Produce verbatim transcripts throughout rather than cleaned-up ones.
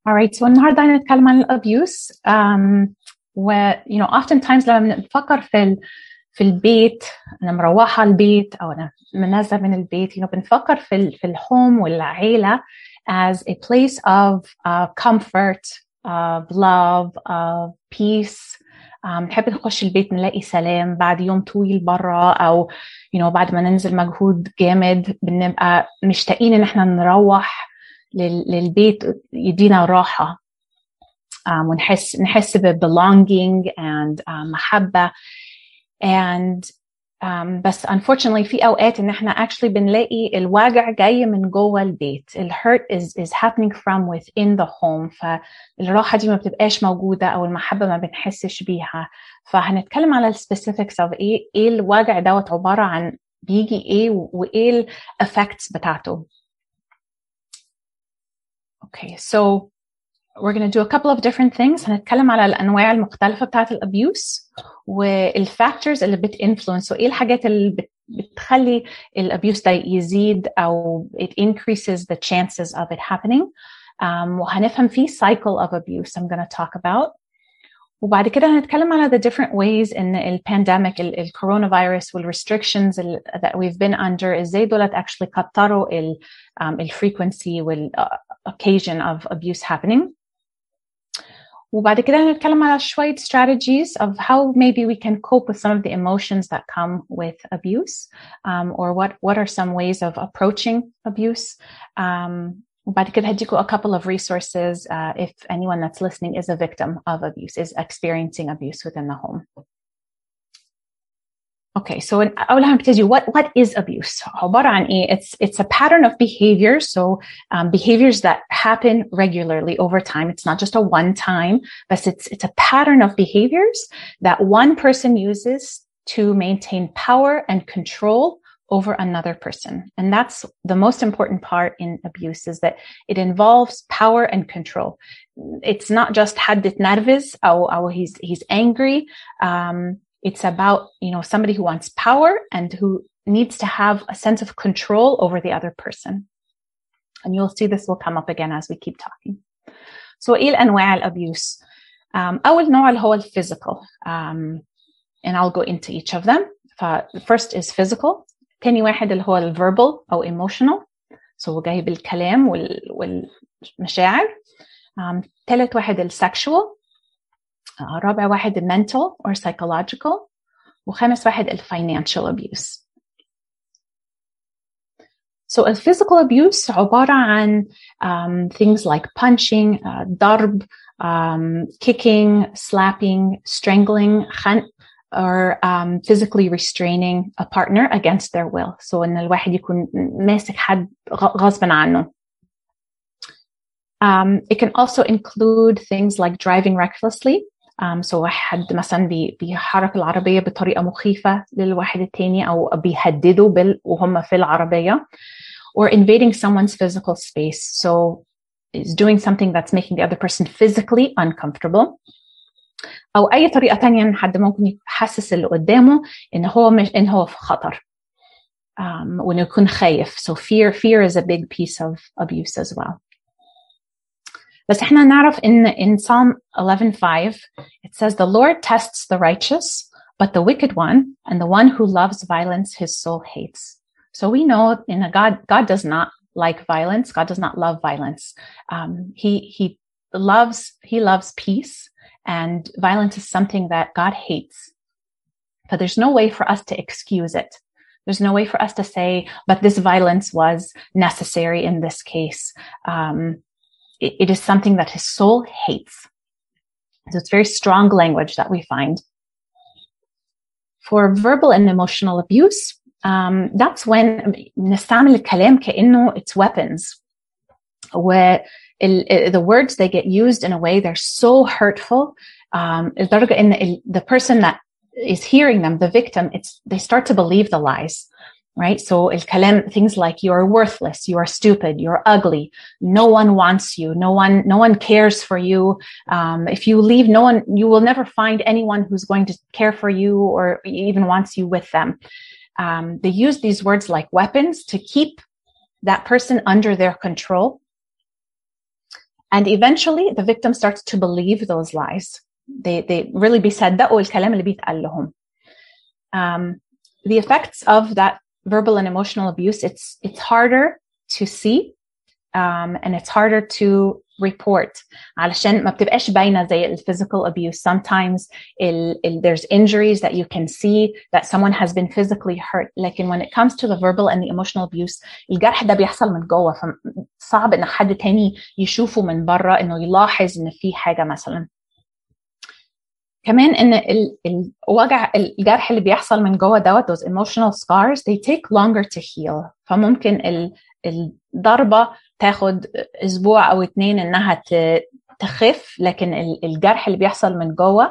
Alright, so النهارده هنتكلم عن الابيوس. um, و you know oftentimes لما بنفكر في ال, في البيت، أنا مروحة البيت أو أنا نازلة من البيت، you know بنفكر في ال, في الهوم والعيلة as a place of uh, comfort, of love, of peace. نحب um, نخش البيت نلاقي سلام بعد يوم طويل برا، أو you know بعد ما ننزل مجهود جامد بنبقى مشتاقين إن احنا نروح للبيت يدينا راحة. um, ونحس نحس ب belonging and um, محبة. and um, بس unfortunately في أوقات إن إحنا actually بنلاقي الوجع جاي من جوه البيت. ال hurt is is happening from within the home. فالراحة دي ما بتبقاش موجودة أو المحبة ما بنحسش بيها. فهنتكلم على ال specifics of إيه إيه الوجع دوت عبارة عن بيجي إيه وإيه ال effects بتاعته. Okay, so we're going to do a couple of different things. هنتكلم على الأنواع المختلفة بتاعة الأبيوس والفاكتورز اللي بتinfluence، وإيه الحاجات اللي بتخلي الأبيوس ده يزيد أو it increases the chances of it happening. Um, وهنفهم فيه cycle of abuse I'm going to talk about. وبعد كده هنتكلم على the different ways إن ال pandemic, ال, ال coronavirus وال restrictions ال, that we've been under إزاي دولت actually كتروا ال, um, ال frequency وال uh, occasion of abuse happening. وبعد كده هنتكلم على شوية strategies of how maybe we can cope with some of the emotions that come with abuse, um, or what, what are some ways of approaching abuse. Um, وبعد كده هديكوا a couple of resources uh, if anyone that's listening is a victim of abuse, is experiencing abuse within the home. Okay, so أول حاجة نبتدي what what is abuse؟ عبارة عن إيه؟ It's it's a pattern of behavior, so um, behaviors that happen regularly over time. It's not just a one time, but it's it's a pattern of behaviors that one person uses to maintain power and control over another person. And that's the most important part in abuse, is that it involves power and control. It's not just حد اتنرفز أو أو he's he's angry. Um, It's about, you know, somebody who wants power and who needs to have a sense of control over the other person. And you'll see this will come up again as we keep talking. So, إيه الأنواع الأبيوس؟ Um, أول نوع اللي هو ال physical. Um, and I'll go into each of them. The first is physical. تاني واحد اللي هو ال verbal أو emotional. So جاي بالكلام وال والمشاعر. Um, ثالث واحد ال sexual. Uh, رابع واحد mental or psychological. وخامس واحد ال financial abuse. So a physical abuse عبارة عن um, things like punching, uh, ضرب, um, kicking, slapping, strangling, خنق, or um, physically restraining a partner against their will. So إن الواحد يكون ماسك حد غصبا عنه. Um, it can also include things like driving recklessly. Um, so واحد مثلا بي, بيحرك العربية بطريقة مخيفة للواحد التاني أو بيهددوا بال وهم في العربية, or invading someone's physical space. So is doing something that's making the other person physically uncomfortable. أو أي طريقة تانية إن حد ممكن يحسس اللي قدامه إن هو مش إن هو في خطر. Um, وإنه يكون خايف. So fear, fear is a big piece of abuse as well. بس احنا نعرف in, in Psalm eleven five, it says, the Lord tests the righteous, but the wicked one and the one who loves violence, his soul hates. So we know in a God, God does not like violence. God does not love violence. Um, he, he loves, he loves peace, and violence is something that God hates. But there's no way for us to excuse it. There's no way for us to say, but this violence was necessary in this case. Um, It is something that his soul hates. So it's very strong language that we find. For verbal and emotional abuse, um, that's when نستعمل الكلام كأنه it's weapons. Where the words, they get used in a way they're so hurtful. Um, لدرجة إن the person that is hearing them, the victim, it's they start to believe the lies. Right? So الكلام, things like you are worthless, you are stupid, you're ugly, no one wants you, no one, no one cares for you. Um, if you leave, no one, you will never find anyone who's going to care for you or even wants you with them. Um, they use these words like weapons to keep that person under their control. And eventually the victim starts to believe those lies. They, they really بيصدقوا الكلام اللي بيتقال لهم. Um, the effects of that verbal and emotional abuse, it's, it's harder to see, um, and it's harder to report علشان ما بتبقاش باينة زي ال physical abuse. Sometimes il, il, there's injuries that you can see that someone has been physically hurt. لكن when it comes to the verbal and the emotional abuse, الجرح ده بيحصل من جوه، فصعب إن حد تاني يشوفه من برا إنه يلاحظ إن في حاجة مثلا. كمان إن ال, الوجع الجرح اللي بيحصل من جوه دوت those emotional scars, they take longer to heal. فممكن ال, الضربة تاخد أسبوع أو اتنين إنها تخف، لكن الجرح اللي بيحصل من جوه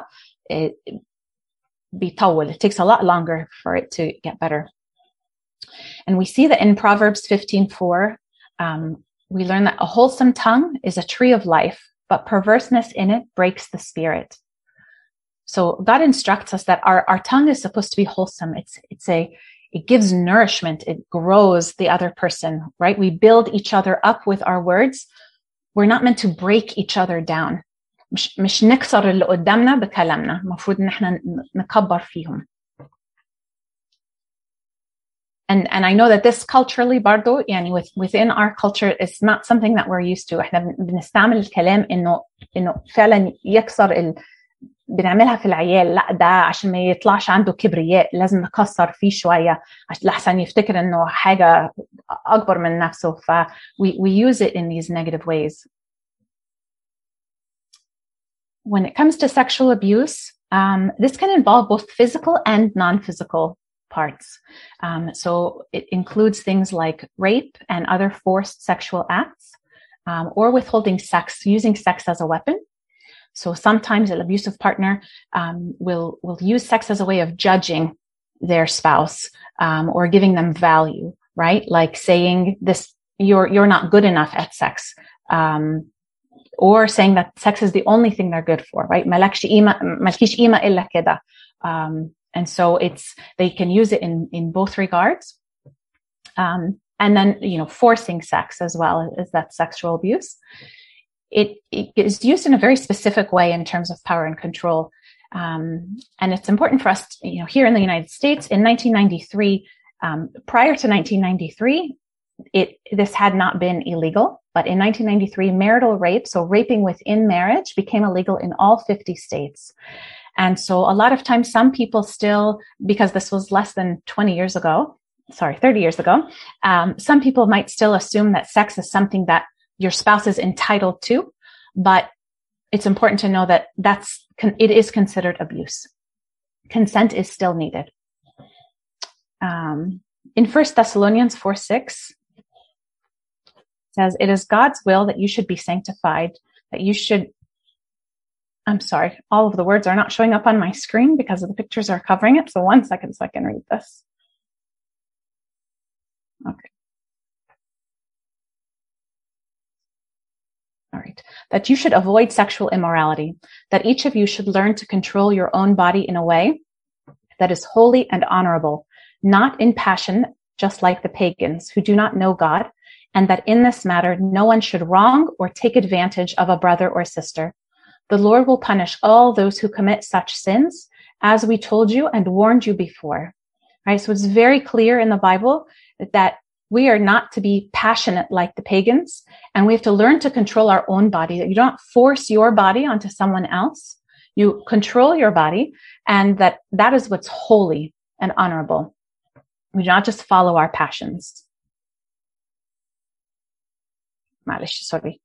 بيطول. It takes a lot longer for it to get better. And we see that in Proverbs fifteen four, um, we learn that a wholesome tongue is a tree of life, but perverseness in it breaks the spirit. So God instructs us that our, our tongue is supposed to be wholesome. It's, it's a, it gives nourishment. It grows the other person, right? We build each other up with our words. We're not meant to break each other down. مش, مش نكسر اللي قدامنا بكلامنا. مفروض ان احنا نكبر فيهم. And, and I know that this culturally برضو, يعني with, within our culture, it's not something that we're used to. احنا بنستعمل الكلام انه, انه فعلا يكسر ال, بنعملها في العيال. لا، ده عشان ما يطلعش عنده كبرياء لازم نكسر فيه شوية عشان لحسن يفتكر انه حاجة اكبر من نفسه. ف we, we use it in these negative ways. When it comes to sexual abuse, um, this can involve both physical and non-physical parts. Um, so it includes things like rape and other forced sexual acts, um, or withholding sex, using sex as a weapon. So sometimes an abusive partner um, will will use sex as a way of judging their spouse, um, or giving them value, right? Like saying this, you're you're not good enough at sex, um, or saying that sex is the only thing they're good for, right? مالكش قيمة مالكيش قيمة إلا كده. Um, and so it's they can use it in in both regards, um, and then you know forcing sex as well as that sexual abuse. It, it is used in a very specific way in terms of power and control. Um, and it's important for us, to, you know, here in the United States in nineteen ninety-three, um, prior to nineteen ninety-three, it, this had not been illegal, but in nineteen ninety-three, marital rape, so raping within marriage, became illegal in all fifty states. And so a lot of times some people still, because this was less than twenty years ago, sorry, thirty years ago, um, some people might still assume that sex is something that your spouse is entitled to, but it's important to know that that's, it is considered abuse. Consent is still needed. Um, in First Thessalonians four six, it says, it is God's will that you should be sanctified, that you should, I'm sorry, all of the words are not showing up on my screen because the pictures are covering it. So one second so I can read this. Okay. All right. That you should avoid sexual immorality, that each of you should learn to control your own body in a way that is holy and honorable, not in passion, just like the pagans who do not know God, and that in this matter, no one should wrong or take advantage of a brother or sister. The Lord will punish all those who commit such sins, as we told you and warned you before. All right. So it's very clear in the Bible that we are not to be passionate like the pagans, and we have to learn to control our own body, that you don't force your body onto someone else. You control your body, and that that is what's holy and honorable. We do not just follow our passions. Sorry.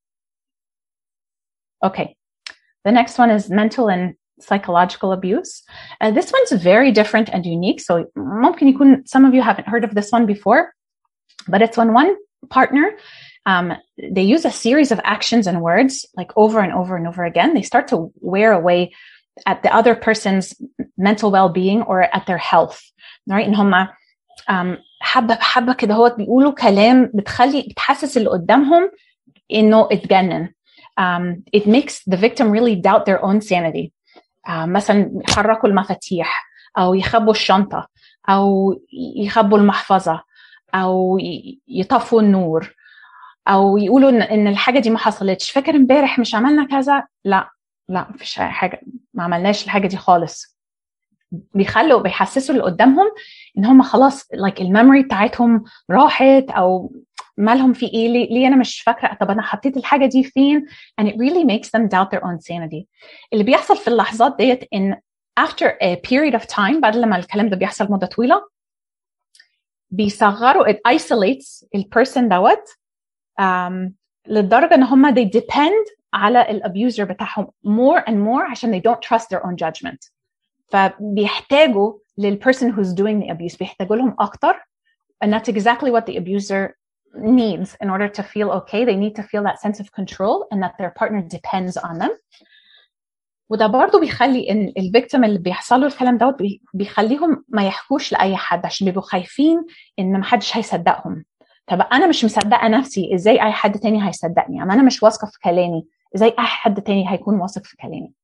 Okay. The next one is mental and psychological abuse. Uh, this one's very different and unique. So ممكن يكون some of you haven't heard of this one before. But it's when one partner, um, they use a series of actions and words like over and over and over again. They start to wear away at the other person's mental well-being or at their health, right? إن هما um, حبة حبة كده هو بيقولوا كلام بتخلي بتحسس اللي قدامهم إنه اتجنن. Um, it makes the victim really doubt their own sanity. Uh, مثلا يحركوا المفاتيح أو يخبوا الشنطة أو يخبوا المحفظة أو يطفوا النور او يقولوا ان ان الحاجه دي ما حصلتش. فاكر امبارح مش عملنا كذا؟ لا لا مفيش حاجه، ما عملناش الحاجه دي خالص. بيخلوا بيحسسوا اللي قدامهم ان هم خلاص like الميموري بتاعتهم راحت، او مالهم في ايه، ليه, ليه انا مش فاكره، طب انا حطيت الحاجه دي فين. and it really makes them doubt their own sanity. اللي بيحصل في اللحظات ديت ان after a period of time، بعد لما الكلام ده بيحصل مده طويله، بيصغروا it isolates البيرسون دوت um, للدرجه ان هم they depend على الابيوزر بتاعهم more and more عشان they don't trust their own judgment. فبيحتاجوا للperson who's doing the abuse، بيحتاجوا لهم اكتر. and that's exactly what the abuser needs in order to feel okay. They need to feel that sense of control and that their partner depends on them. وده برضو بيخلي ان الفيكتيم اللي بيحصل له الكلام دوت بيخليهم ما يحكوش لاي حد عشان بيبقوا خايفين ان ما حدش هيصدقهم. طب انا مش مصدقه نفسي، ازاي اي حد تاني هيصدقني؟ اما انا مش واثقه في كلامي، ازاي اي حد تاني هيكون واثق في كلامي؟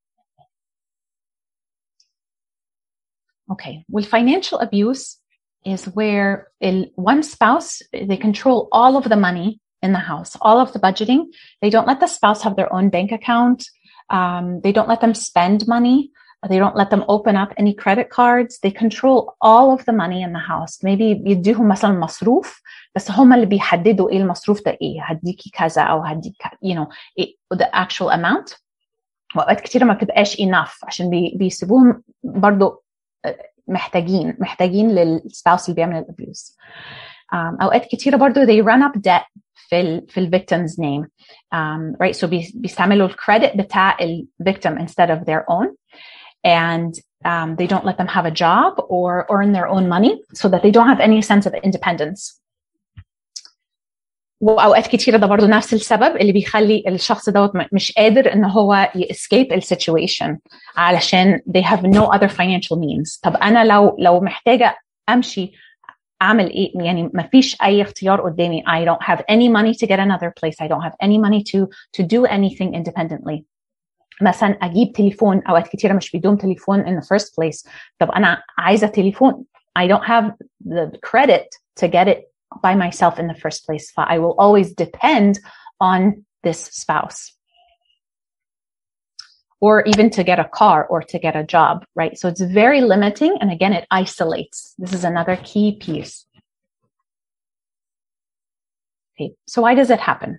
Okay, well, financial abuse is where il, one spouse, they control all of the money in the house, all of the budgeting. They don't let the spouse have their own bank account. Um, they don't let them spend money. They don't let them open up any credit cards. They control all of the money in the house. Maybe يديهم مثلا مصروف، بس هم اللي بيحددوا ايه المصروف ده، ايه هديكي كذا او هديك you know the actual amount. وأوقات كتيرة ما بتبقاش enough عشان بي, بيسيبوهم برضو محتاجين محتاجين للسباوس اللي بيعمل الابيوز. um, اوقات كتيره برضو they run up debt في ال في ال victim's name, um, right? So بي, بيستعملوا الكريدت بتاع ال victim instead of their own, and um, they don't let them have a job or earn their own money so that they don't have any sense of independence. واوقات كتيره ده برضو نفس السبب اللي بيخلي الشخص دوت مش قادر ان هو يescape السيتويشن علشان they have no other financial means. طب انا لو لو محتاجه امشي اعمل ايه؟ يعني ما فيش اي اختيار قدامي. I don't have any money to get another place. I don't have any money to to do anything independently. مثلا اجيب تليفون، اوقات كتيره مش بيدوم تليفون in the first place. طب انا عايزه تليفون. I don't have the credit to get it by myself in the first place. So I will always depend on this spouse. Or even to get a car or to get a job, right? So it's very limiting. And again, it isolates. This is another key piece. Okay, so why does it happen?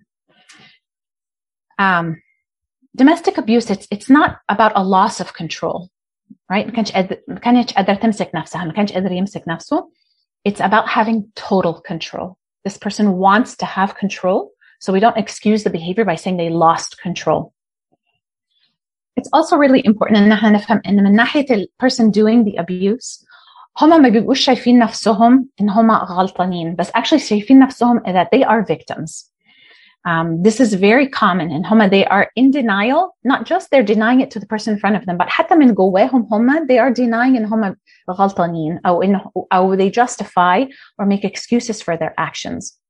Um, domestic abuse, it's, it's not about a loss of control, right? ما كانش قادر ما كانش قادر تمسك نفسها، ما كانش قادر يمسك نفسه. It's about having total control. This person wants to have control, so we don't excuse the behavior by saying they lost control. It's also really important ان احنا نفهم ان من ناحية the person doing the abuse هما ما بيبقوش شايفين نفسهم ان هما غلطانين، بس actually شايفين نفسهم that they are victims. Um, this is very common and homa they are in denial. Not just they're denying it to the person in front of them, but حتى من جواهم homa they are denying ان homa غلطانين أو إن أو they justify or make excuses for their actions.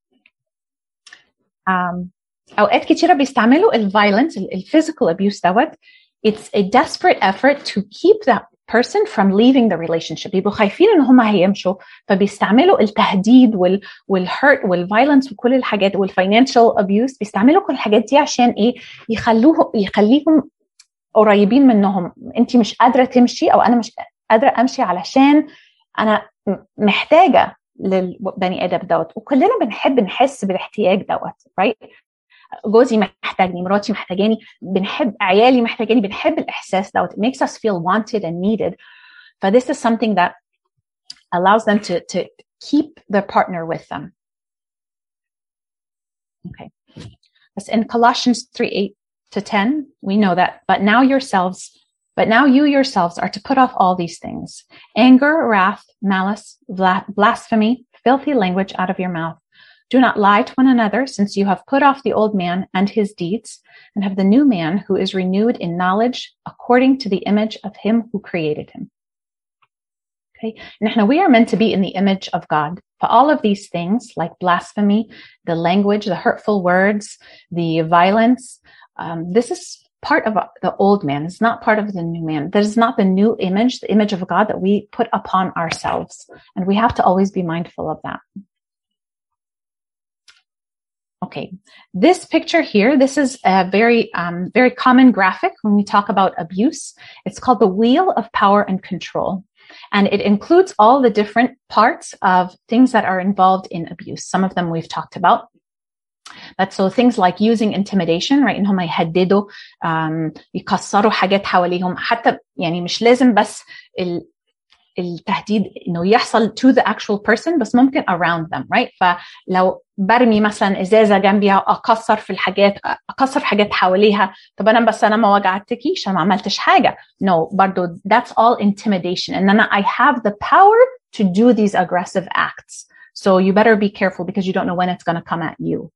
Um, أوقات كتيرة بيستعملوا ال violence, ال physical abuse دوت. It's a desperate effort to keep that person from leaving the relationship. بيبقوا خايفين ان هم هيمشوا، فبيستعملوا التهديد وال والhurt والviolence وكل الحاجات والfinancial abuse. بيستعملوا كل الحاجات دي عشان ايه؟ يخلوه يخليهم قريبين منهم. انتي مش قادرة تمشي او انا مش قادرة امشي علشان انا محتاجة للبني ادم دوت. وكلنا بنحب نحس بالاحتياج دوت، right? جوزي محتاجني، مراتي محتاجاني، بنحب عيالي محتاجاني، بنحب الإحساس دوت. It makes us feel wanted and needed. But this is something that allows them to, to keep their partner with them. Okay. As in Colossians three, eight to ten, we know that, but now yourselves, but now you yourselves are to put off all these things: anger, wrath, malice, blasphemy, filthy language out of your mouth. Do not lie to one another, since you have put off the old man and his deeds, and have the new man who is renewed in knowledge according to the image of him who created him. Okay, and we are meant to be in the image of God. For all of these things, like blasphemy, the language, the hurtful words, the violence, um, this is part of the old man. It's not part of the new man. That is not the new image, the image of God that we put upon ourselves. And we have to always be mindful of that. Okay, this picture here, this is a very, um, very common graphic when we talk about abuse. It's called the wheel of power and control. And it includes all the different parts of things that are involved in abuse. Some of them we've talked about. But so things like using intimidation, right? إنهم يهددوا, um, يكسروا حاجات حواليهم. حتى يعني مش لازم بس ال التهديد إنه يحصل to the actual person, بس ممكن around them, right? فلو برمي مثلا إزازة جنبيها أكسر في الحاجات أكسر في حاجات حواليها. طب أنا بس أنا ما وجعتكيش، أنا ما عملتش حاجة. No, برضو that's all intimidation. And then I have the power to do these aggressive acts. So you better be careful because you don't know when it's going to come at you.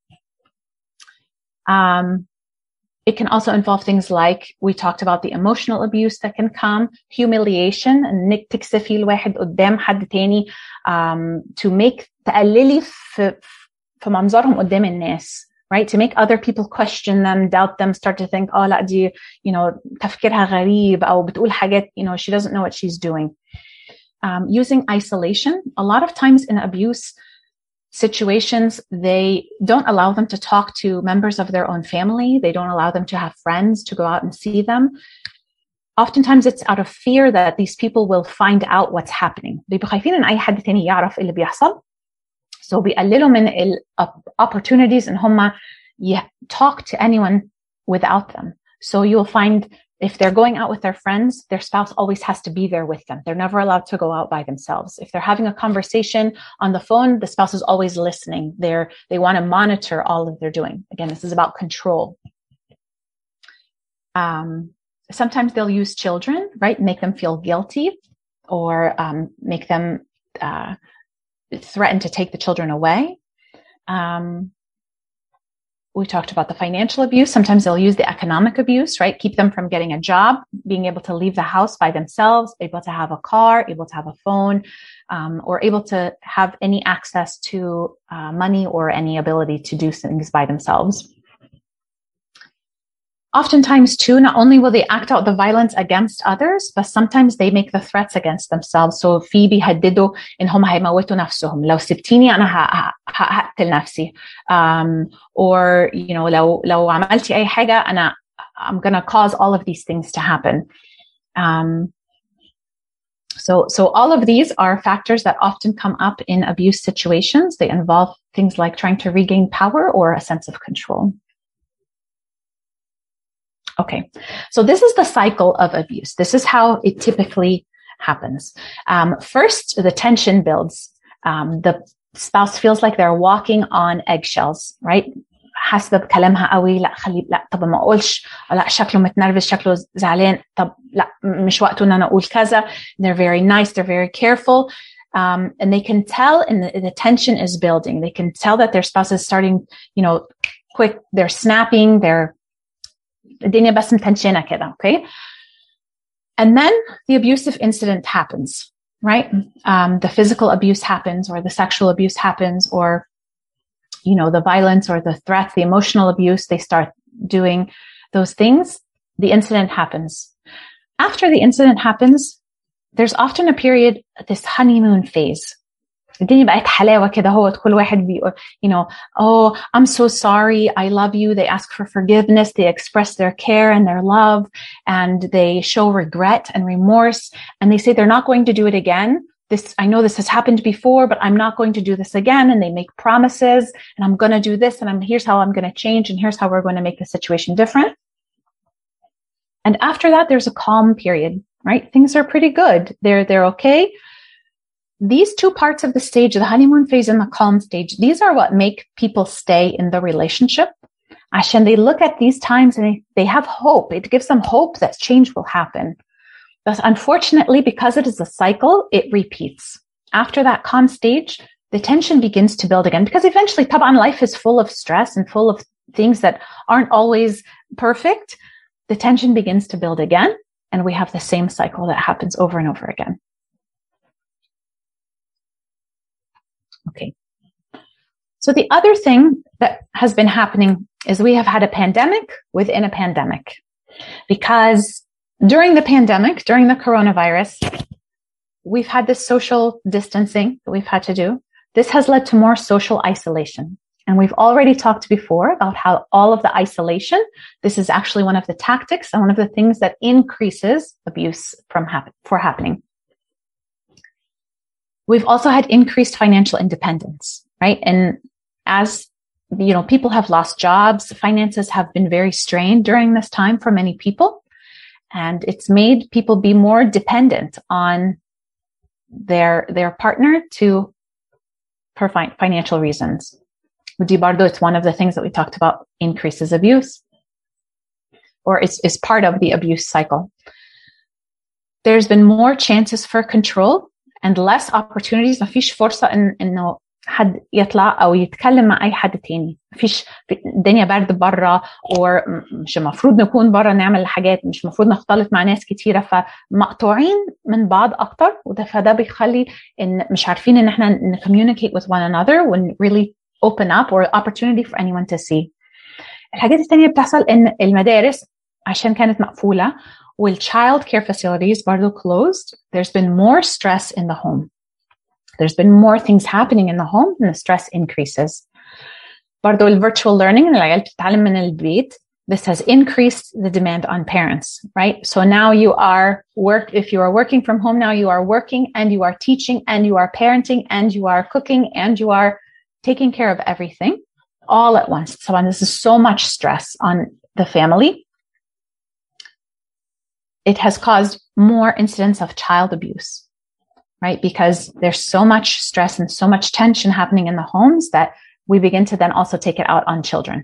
Um, It can also involve things like we talked about the emotional abuse that can come, humiliation, إنك تكسفي الواحد قدام حد تاني, um, to make تقللي في في منظرهم قدام الناس, right? To make other people question them, doubt them, start to think, oh لا دي, you know, تفكيرها غريب أو بتقول حاجات, you know, she doesn't know what she's doing. Um, using isolation, a lot of times in abuse situations, they don't allow them to talk to members of their own family. They don't allow them to have friends, to go out and see them. Oftentimes it's out of fear that these people will find out what's happening. بيبقوا خايفين إن أي حد تاني يعرف اللي بيحصل. So بيقللوا من ال opportunities إن هم talk to anyone without them. So you'll find if they're going out with their friends, their spouse always has to be there with them. They're never allowed to go out by themselves. If they're having a conversation on the phone, the spouse is always listening. They're, they want to monitor all that they're doing. Again, this is about control. Um, sometimes they'll use children, right? Make them feel guilty or um, make them uh, threaten to take the children away. Um, We talked about the financial abuse. Sometimes they'll use the economic abuse, right? Keep them from getting a job, being able to leave the house by themselves, able to have a car, able to have a phone, um, or able to have any access to uh, money or any ability to do things by themselves. Oftentimes, too, not only will they act out the violence against others, but sometimes they make the threats against themselves. So في بيهددوا إنهم هيموتوا نفسهم. لو سبتيني أنا هقتل نفسي. Um, or, you know, لو لو عملتي أي حاجة أنا I'm gonna cause all of these things to happen. Um, so, so all of these are factors that often come up in abuse situations. They involve things like trying to regain power or a sense of control. Okay, so this is the cycle of abuse. This is how it typically happens. Um, first, the tension builds. Um, the spouse feels like they're walking on eggshells, right? حاسة بكلامها قوي لا خلي لا طب ما اقولش لا شكله متنرفز شكله زعلان طب لا مش وقته ان انا اقول كذا. They're very nice, they're very careful, um, and they can tell and the, the tension is building. They can tell that their spouse is starting, you know, quick, they're snapping, they're الدنيا بس متنشنة كده, okay? And then the abusive incident happens, right? Um, the physical abuse happens or the sexual abuse happens or, you know, the violence or the threats, the emotional abuse, they start doing those things. The incident happens. After the incident happens, there's often a period, this honeymoon phase. الدنيا بقت حلاوة كده هو كل واحد بيقول, you know, oh, I'm so sorry, I love you. They ask for forgiveness. They express their care and their love, and they show regret and remorse. And they say they're not going to do it again. This, I know this has happened before, but I'm not going to do this again. And they make promises, and I'm going to do this, and I'm, here's how I'm going to change, and here's how we're going to make the situation different. And after that, there's a calm period, right? Things are pretty good. They're, they're okay. These two parts of the stage, the honeymoon phase and the calm stage, these are what make people stay in the relationship. Ashen, they look at these times and they, they have hope. It gives them hope that change will happen. But unfortunately, because it is a cycle, it repeats. After that calm stage, the tension begins to build again because eventually, taban, life is full of stress and full of things that aren't always perfect. The tension begins to build again, and we have the same cycle that happens over and over again. Okay. So the other thing that has been happening is we have had a pandemic within a pandemic, because during the pandemic, during the coronavirus, we've had this social distancing that we've had to do. This has led to more social isolation. And we've already talked before about how all of the isolation, this is actually one of the tactics and one of the things that increases abuse from hap- for happening. We've also had increased financial independence, right? And as you know, people have lost jobs, finances have been very strained during this time for many people. And it's made people be more dependent on their, their partner to, for fi- financial reasons. Di bardo, it's one of the things that we talked about, increases abuse, or it's, is part of the abuse cycle. There's been more chances for control and less opportunities. ما فيش فرصة إن إنه حد يطلع أو يتكلم مع أي حد تاني. ما فيش الدنيا برد برا، or مش المفروض نكون برا نعمل حاجات، مش المفروض نختلط مع ناس كتيرة، فمقطوعين من بعض أكتر. وده فده بيخلي إن مش عارفين إن إحنا ن communicate with one another and really open up or opportunity for anyone to see. الحاجات التانية بتحصل إن المدارس عشان كانت مقفولة والchild care facilities برضو closed, there's been more stress in the home. There's been more things happening in the home and the stress increases. برضو ال virtual learning, العيال بتتعلم من البيت, this has increased the demand on parents, right? So now you are work, if you are working from home, now you are working and you are teaching and you are parenting and you are cooking and you are taking care of everything all at once. So this is so much stress on the family. It has caused more incidents of child abuse, right? Because there's so much stress and so much tension happening in the homes that we begin to then also take it out on children.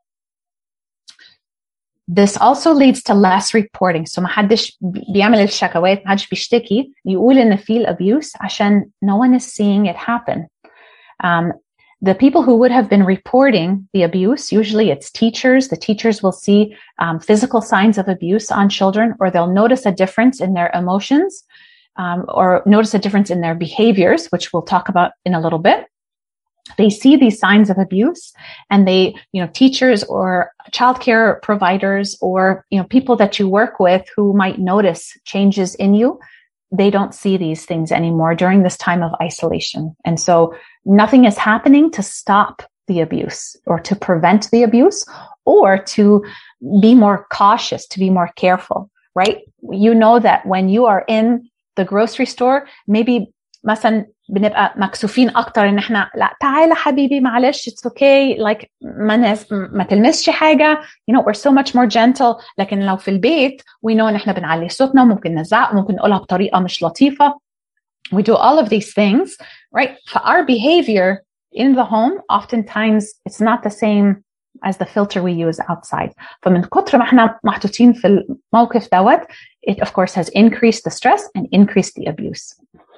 This also leads to less reporting. So محدش بيعمل الشكوات، محدش بيشتكي يقول إن في abuse عشان no one is seeing it happen. Um, The people who would have been reporting the abuse, usually it's teachers. The teachers will see um, physical signs of abuse on children, or they'll notice a difference in their emotions, um, or notice a difference in their behaviors, which we'll talk about in a little bit. They see these signs of abuse, and they, you know, teachers or childcare providers or, you know, people that you work with who might notice changes in you, they don't see these things anymore during this time of isolation. And so nothing is happening to stop the abuse or to prevent the abuse or to be more cautious, to be more careful, right? You know that when you are in the grocery store, maybe مثلا بنبقى مكسوفين أكتر إن إحنا لا تعال حبيبي معلش it's okay like ما ناس ما تلمسش حاجة, you know, we're so much more gentle. لكن لو في البيت we know إن إحنا بنعلي صوتنا وممكن نزعق وممكن نقولها بطريقة مش لطيفة. We do all of these things, right? For our behavior in the home, oftentimes it's not the same as the filter we use outside. فمن كتر ما احنا محطوطين في الموقف دوت, it of course has increased the stress and increased the abuse.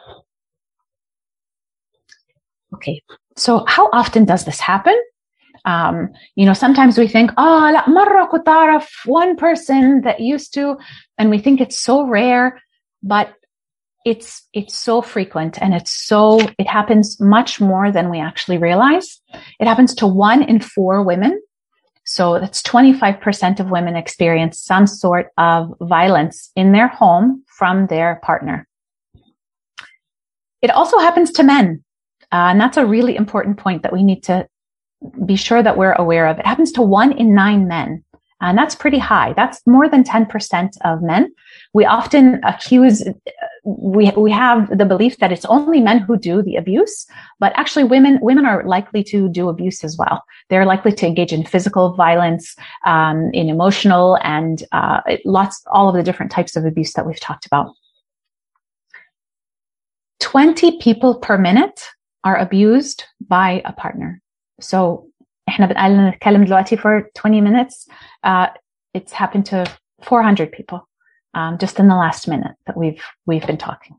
Okay, so how often does this happen? Um, you know, sometimes we think, oh, لا مرة كنت أعرف one person that used to, and we think it's so rare, but it's it's so frequent and it's so it happens much more than we actually realize. It happens to one in four women. So that's twenty-five percent of women experience some sort of violence in their home from their partner. It also happens to men. Uh, and that's a really important point that we need to be sure that we're aware of. It happens to one in nine men. And that's pretty high. That's more than ten percent of men. We often accuse, we, we have the belief that it's only men who do the abuse, but actually women, women are likely to do abuse as well. They're likely to engage in physical violence, um, in emotional and, uh, lots, all of the different types of abuse that we've talked about. twenty people per minute are abused by a partner. So احنا بنقال نتكلم دلوقتي for twenty minutes. Uh, it's happened to four hundred people, um, just in the last minute that we've, we've been talking.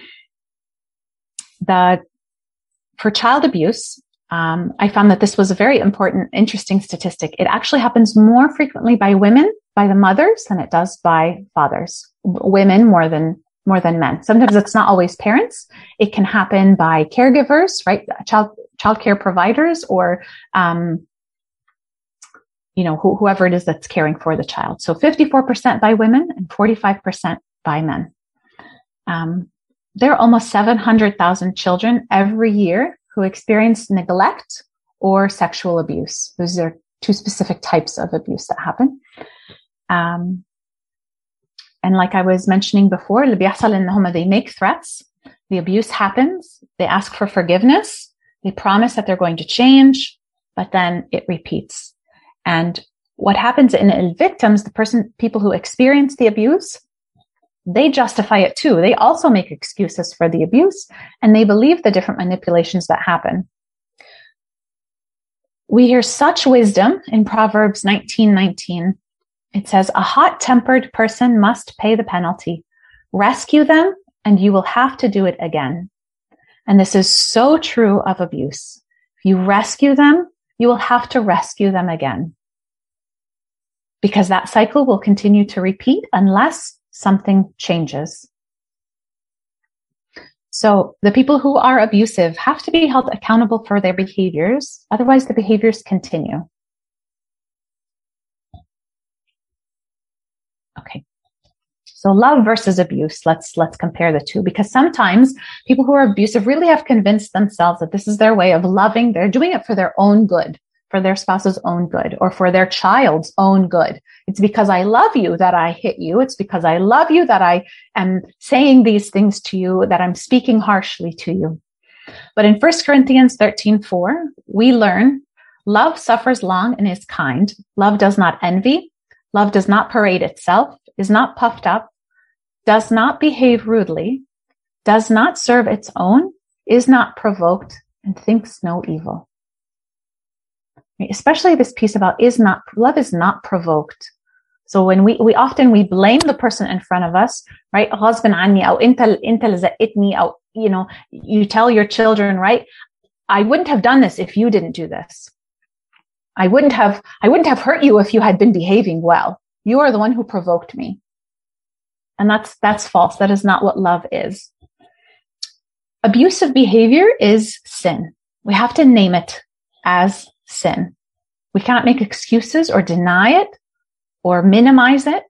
The, for child abuse, um, I found that this was a very important, interesting statistic. It actually happens more frequently by women, by the mothers, than it does by fathers. Women more than, more than men. Sometimes it's not always parents. It can happen by caregivers, right? Child, childcare providers or, um, you know, wh- whoever it is that's caring for the child. So fifty-four percent by women and forty-five percent by men. Um, there are almost seven hundred thousand children every year who experience neglect or sexual abuse. Those are two specific types of abuse that happen. Um, and like I was mentioning before, اللي بيحصل إن هما they make threats. The abuse happens. They ask for forgiveness. They promise that they're going to change, but then it repeats. And what happens in, in victims, the person, people who experience the abuse, they justify it too. They also make excuses for the abuse, and they believe the different manipulations that happen. We hear such wisdom in Proverbs nineteen nineteen. It says, a hot-tempered person must pay the penalty. Rescue them, and you will have to do it again. And this is so true of abuse. If you rescue them, you will have to rescue them again. Because that cycle will continue to repeat unless something changes. So the people who are abusive have to be held accountable for their behaviors. Otherwise, the behaviors continue. Okay. So love versus abuse. Let's, let's compare the two, because sometimes people who are abusive really have convinced themselves that this is their way of loving. They're doing it for their own good, for their spouse's own good, or for their child's own good. It's because I love you that I hit you. It's because I love you that I am saying these things to you, that I'm speaking harshly to you. But in First Corinthians thirteen four, we learn love suffers long and is kind. Love does not envy. Love does not parade itself, is not puffed up, does not behave rudely, does not serve its own, is not provoked, and thinks no evil. Especially this piece about is not, love is not provoked. So when we, we often, we blame the person in front of us, right? غصب عني, أو أنت, أنت اللي زقتني, أو, you know, you tell your children, right? I wouldn't have done this if you didn't do this. I wouldn't have, I wouldn't have hurt you if you had been behaving well. You are the one who provoked me. And that's, that's false. That is not what love is. Abusive behavior is sin. We have to name it as sin. We cannot make excuses or deny it or minimize it.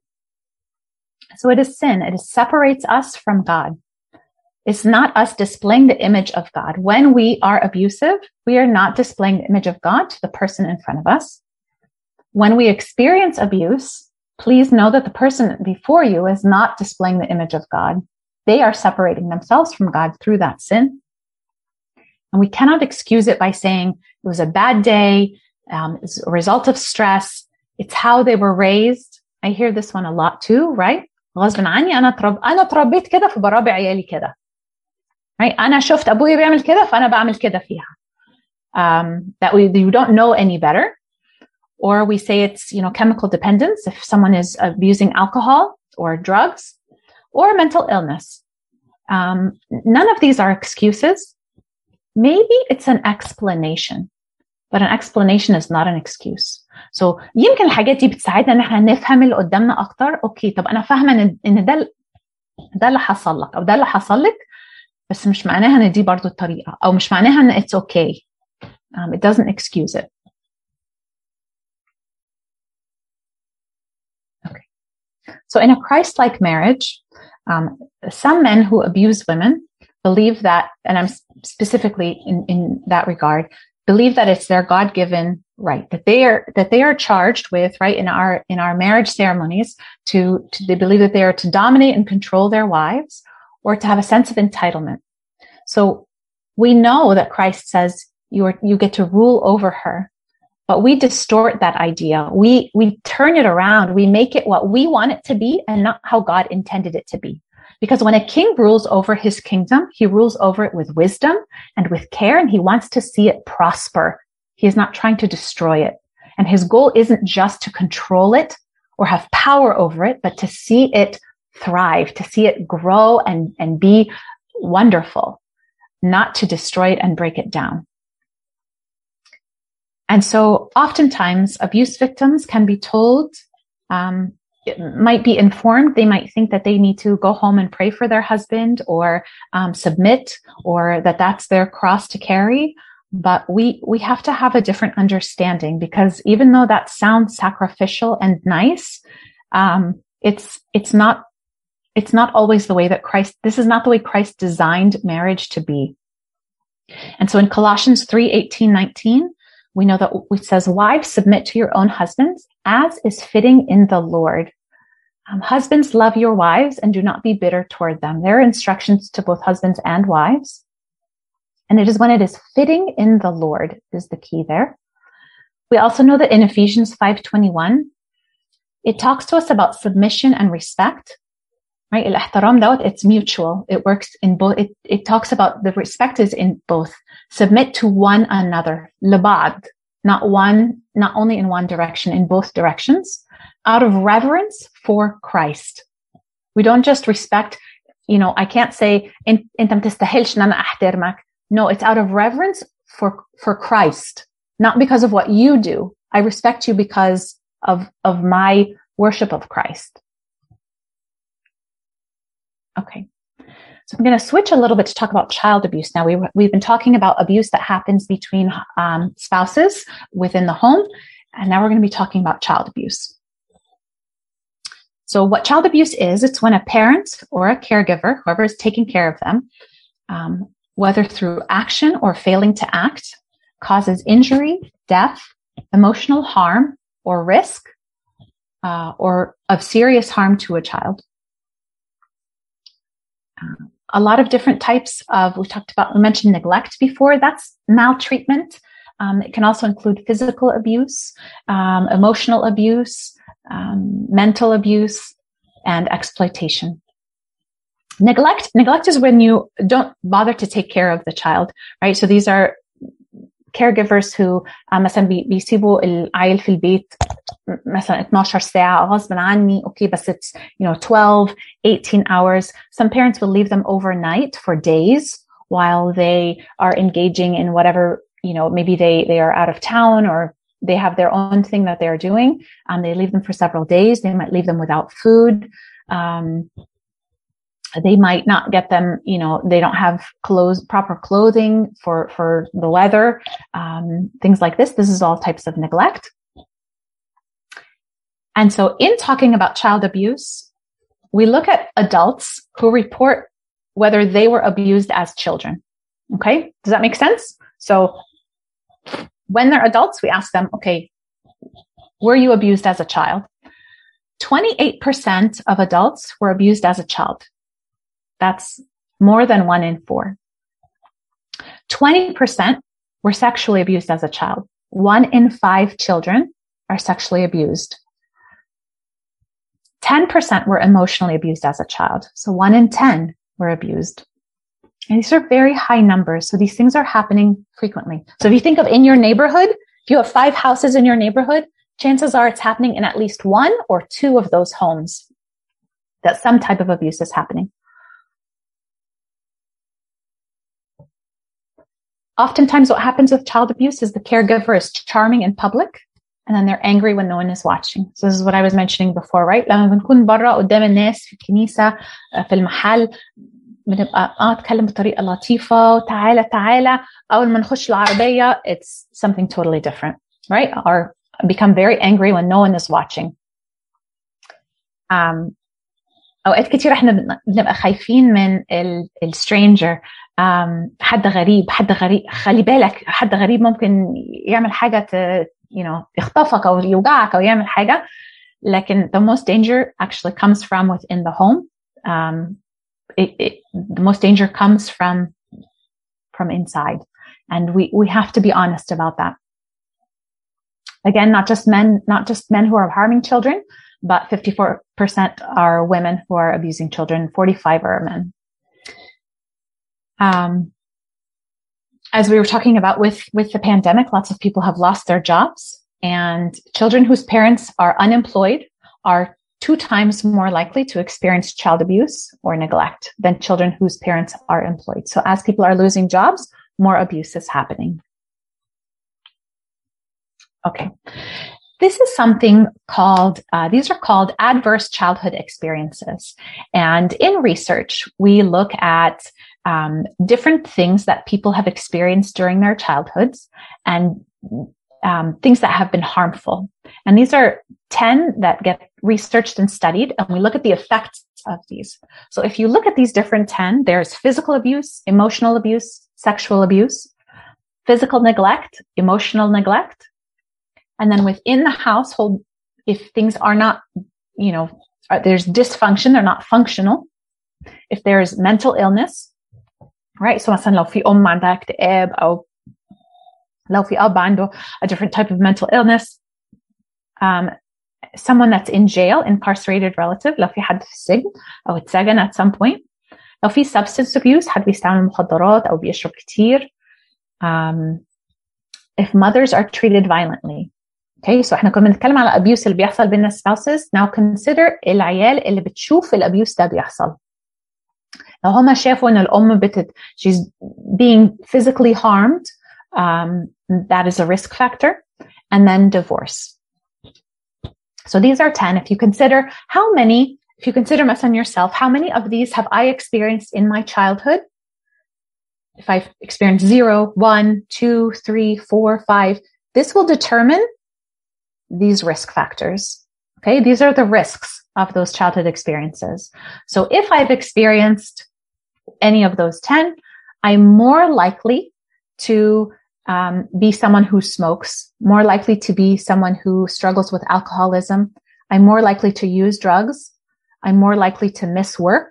So it is sin. It separates us from God. It's not us displaying the image of God. When we are abusive, we are not displaying the image of God to the person in front of us. When we experience abuse, please know that the person before you is not displaying the image of God. They are separating themselves from God through that sin. And we cannot excuse it by saying it was a bad day, um, it's a result of stress. It's how they were raised. I hear this one a lot too, right? غصب عني أنا ترب أنا تربيت كده فبربي عيالي كده. Right? أنا شفت أبوي بيعمل كده فأنا بعمل كده فيها. Um, that we you don't know any better. Or we say it's, you know, chemical dependence if someone is abusing alcohol or drugs or mental illness. Um, none of these are excuses. Maybe it's an explanation, but an explanation is not an excuse. So يمكن الحاجات دي بتساعدنا ان احنا نفهم اللي قدامنا اكتر. اوكي طب انا فاهمه ان ان ده ده اللي حصل لك او ده اللي حصل لك، بس مش معناها ان دي برضو الطريقه، او مش معناها ان it's okay. Um, it doesn't excuse it. Okay. So in a Christ-like marriage, um, some men who abuse women believe that, and I'm specifically in, in that regard, believe that it's their God-given right, that they are, that they are charged with, right, in our, in our marriage ceremonies to, to, they believe that they are to dominate and control their wives or to have a sense of entitlement. So we know that Christ says you are, you get to rule over her, but we distort that idea. We, we turn it around. We make it what we want it to be and not how God intended it to be. Because when a king rules over his kingdom, he rules over it with wisdom and with care, and he wants to see it prosper. He is not trying to destroy it. And his goal isn't just to control it or have power over it, but to see it thrive, to see it grow and, and be wonderful, not to destroy it and break it down. And so oftentimes abuse victims can be told, um, might be informed. They might think that they need to go home and pray for their husband or um, submit, or that that's their cross to carry. But we, we have to have a different understanding, because even though that sounds sacrificial and nice, um, it's, it's not, it's not always the way that Christ, this is not the way Christ designed marriage to be. And so in Colossians three eighteen, nineteen, we know that it says, wives, submit to your own husbands as is fitting in the Lord. Um, husbands, love your wives and do not be bitter toward them. There are instructions to both husbands and wives. And it is when it is fitting in the Lord is the key there. We also know that in Ephesians five twenty-one, it talks to us about submission and respect, right? الاحترام دوت, it's mutual. It works in both. It, it talks about the respect is in both. Submit to one another, لبعض, not one, not only in one direction, in both directions, out of reverence for Christ. We don't just respect, you know, I can't say, انت ما تستاهلش ان انا احترمك. No, it's out of reverence for, for Christ, not because of what you do. I respect you because of, of my worship of Christ. Okay. So I'm going to switch a little bit to talk about child abuse. Now we, we've been talking about abuse that happens between um, spouses within the home. And now we're going to be talking about child abuse. So what child abuse is, it's when a parent or a caregiver, whoever is taking care of them, um, whether through action or failing to act, causes injury, death, emotional harm, or risk, uh, or of serious harm to a child. Uh, a lot of different types of, we talked about, we mentioned neglect before, that's maltreatment. Um, it can also include physical abuse, um, emotional abuse, um, mental abuse, and exploitation. Neglect, neglect is when you don't bother to take care of the child, right? So these are caregivers who مثلا بيسيبوا العيل في البيت مثلا اتناشر ساعة غصب عني. Okay, but it's, you know, twelve, eighteen hours. Some parents will leave them overnight for days while they are engaging in whatever, you know, maybe they, they are out of town or they have their own thing that they're doing. Um, they leave them for several days. They might leave them without food. Um, They might not get them, you know, they don't have clothes, proper clothing for, for the weather, um, things like this. This is all types of neglect. And so in talking about child abuse, we look at adults who report whether they were abused as children. Okay. Does that make sense? So when they're adults, we ask them, okay, were you abused as a child? twenty-eight percent of adults were abused as a child. That's more than one in four. twenty percent were sexually abused as a child. One in five children are sexually abused. ten percent were emotionally abused as a child. So one in ten were abused. And these are very high numbers. So these things are happening frequently. So if you think of in your neighborhood, if you have five houses in your neighborhood, chances are it's happening in at least one or two of those homes that some type of abuse is happening. Oftentimes what happens with child abuse is the caregiver is charming in public and then they're angry when no one is watching. So this is what I was mentioning before, right? لما بنكون برا قدام الناس في الكنيسة في المحل بنبقى اه اتكلم بطريقة لطيفة وتعالى تعالى أول ما نخش العربية it's something totally different, right? Or become very angry when no one is watching. Um, أوقات كتير احنا بنبقى خايفين من السترينجر. Um, حد غريب حد غريب خلي بالك حد غريب ممكن يعمل حاجة ت, you know, يخطفك أو يوجعك أو يعمل حاجة. لكن the most danger actually comes from within the home. Um, it, it, the most danger comes from from inside, and we we have to be honest about that. Again, not just men, not just men who are harming children, but fifty-four percent are women who are abusing children. forty-five are men. Um, as we were talking about with, with the pandemic, lots of people have lost their jobs, and children whose parents are unemployed are two times more likely to experience child abuse or neglect than children whose parents are employed. So as people are losing jobs, more abuse is happening. Okay. This is something called, uh, these are called adverse childhood experiences. And in research, we look at um, different things that people have experienced during their childhoods and um, things that have been harmful. And these are ten that get researched and studied, and we look at the effects of these. So if you look at these different ten, there's physical abuse, emotional abuse, sexual abuse, physical neglect, emotional neglect. And then within the household, if things are not, you know, there's dysfunction, they're not functional. If there's mental illness, right? So مثلا لو في أم عندها اكتئاب أو لو في أب عنده a different type of mental illness, um, someone that's in jail, incarcerated relative, لو في حد في السجن أو اتسجن at some point, لو في substance abuse, حد بيستعمل مخدرات أو بيشرب كتير, um, if mothers are treated violently. Okay, so احنا كنا بنتكلم على abuse اللي بيحصل بين spouses. Now consider العيال اللي بتشوف الabuse ده بيحصل. لو هما شافوا ان الأم بتت she's being physically harmed, um, that is a risk factor. And then divorce. So these are ten. If you consider how many, if you consider مثلا yourself, how many of these have I experienced in my childhood? If I've experienced zero, one, two, three, four, five, this will determine these risk factors. Okay, these are the risks of those childhood experiences. So if I've experienced any of those ten, I'm more likely to um, be someone who smokes, more likely to be someone who struggles with alcoholism. I'm more likely to use drugs. I'm more likely to miss work.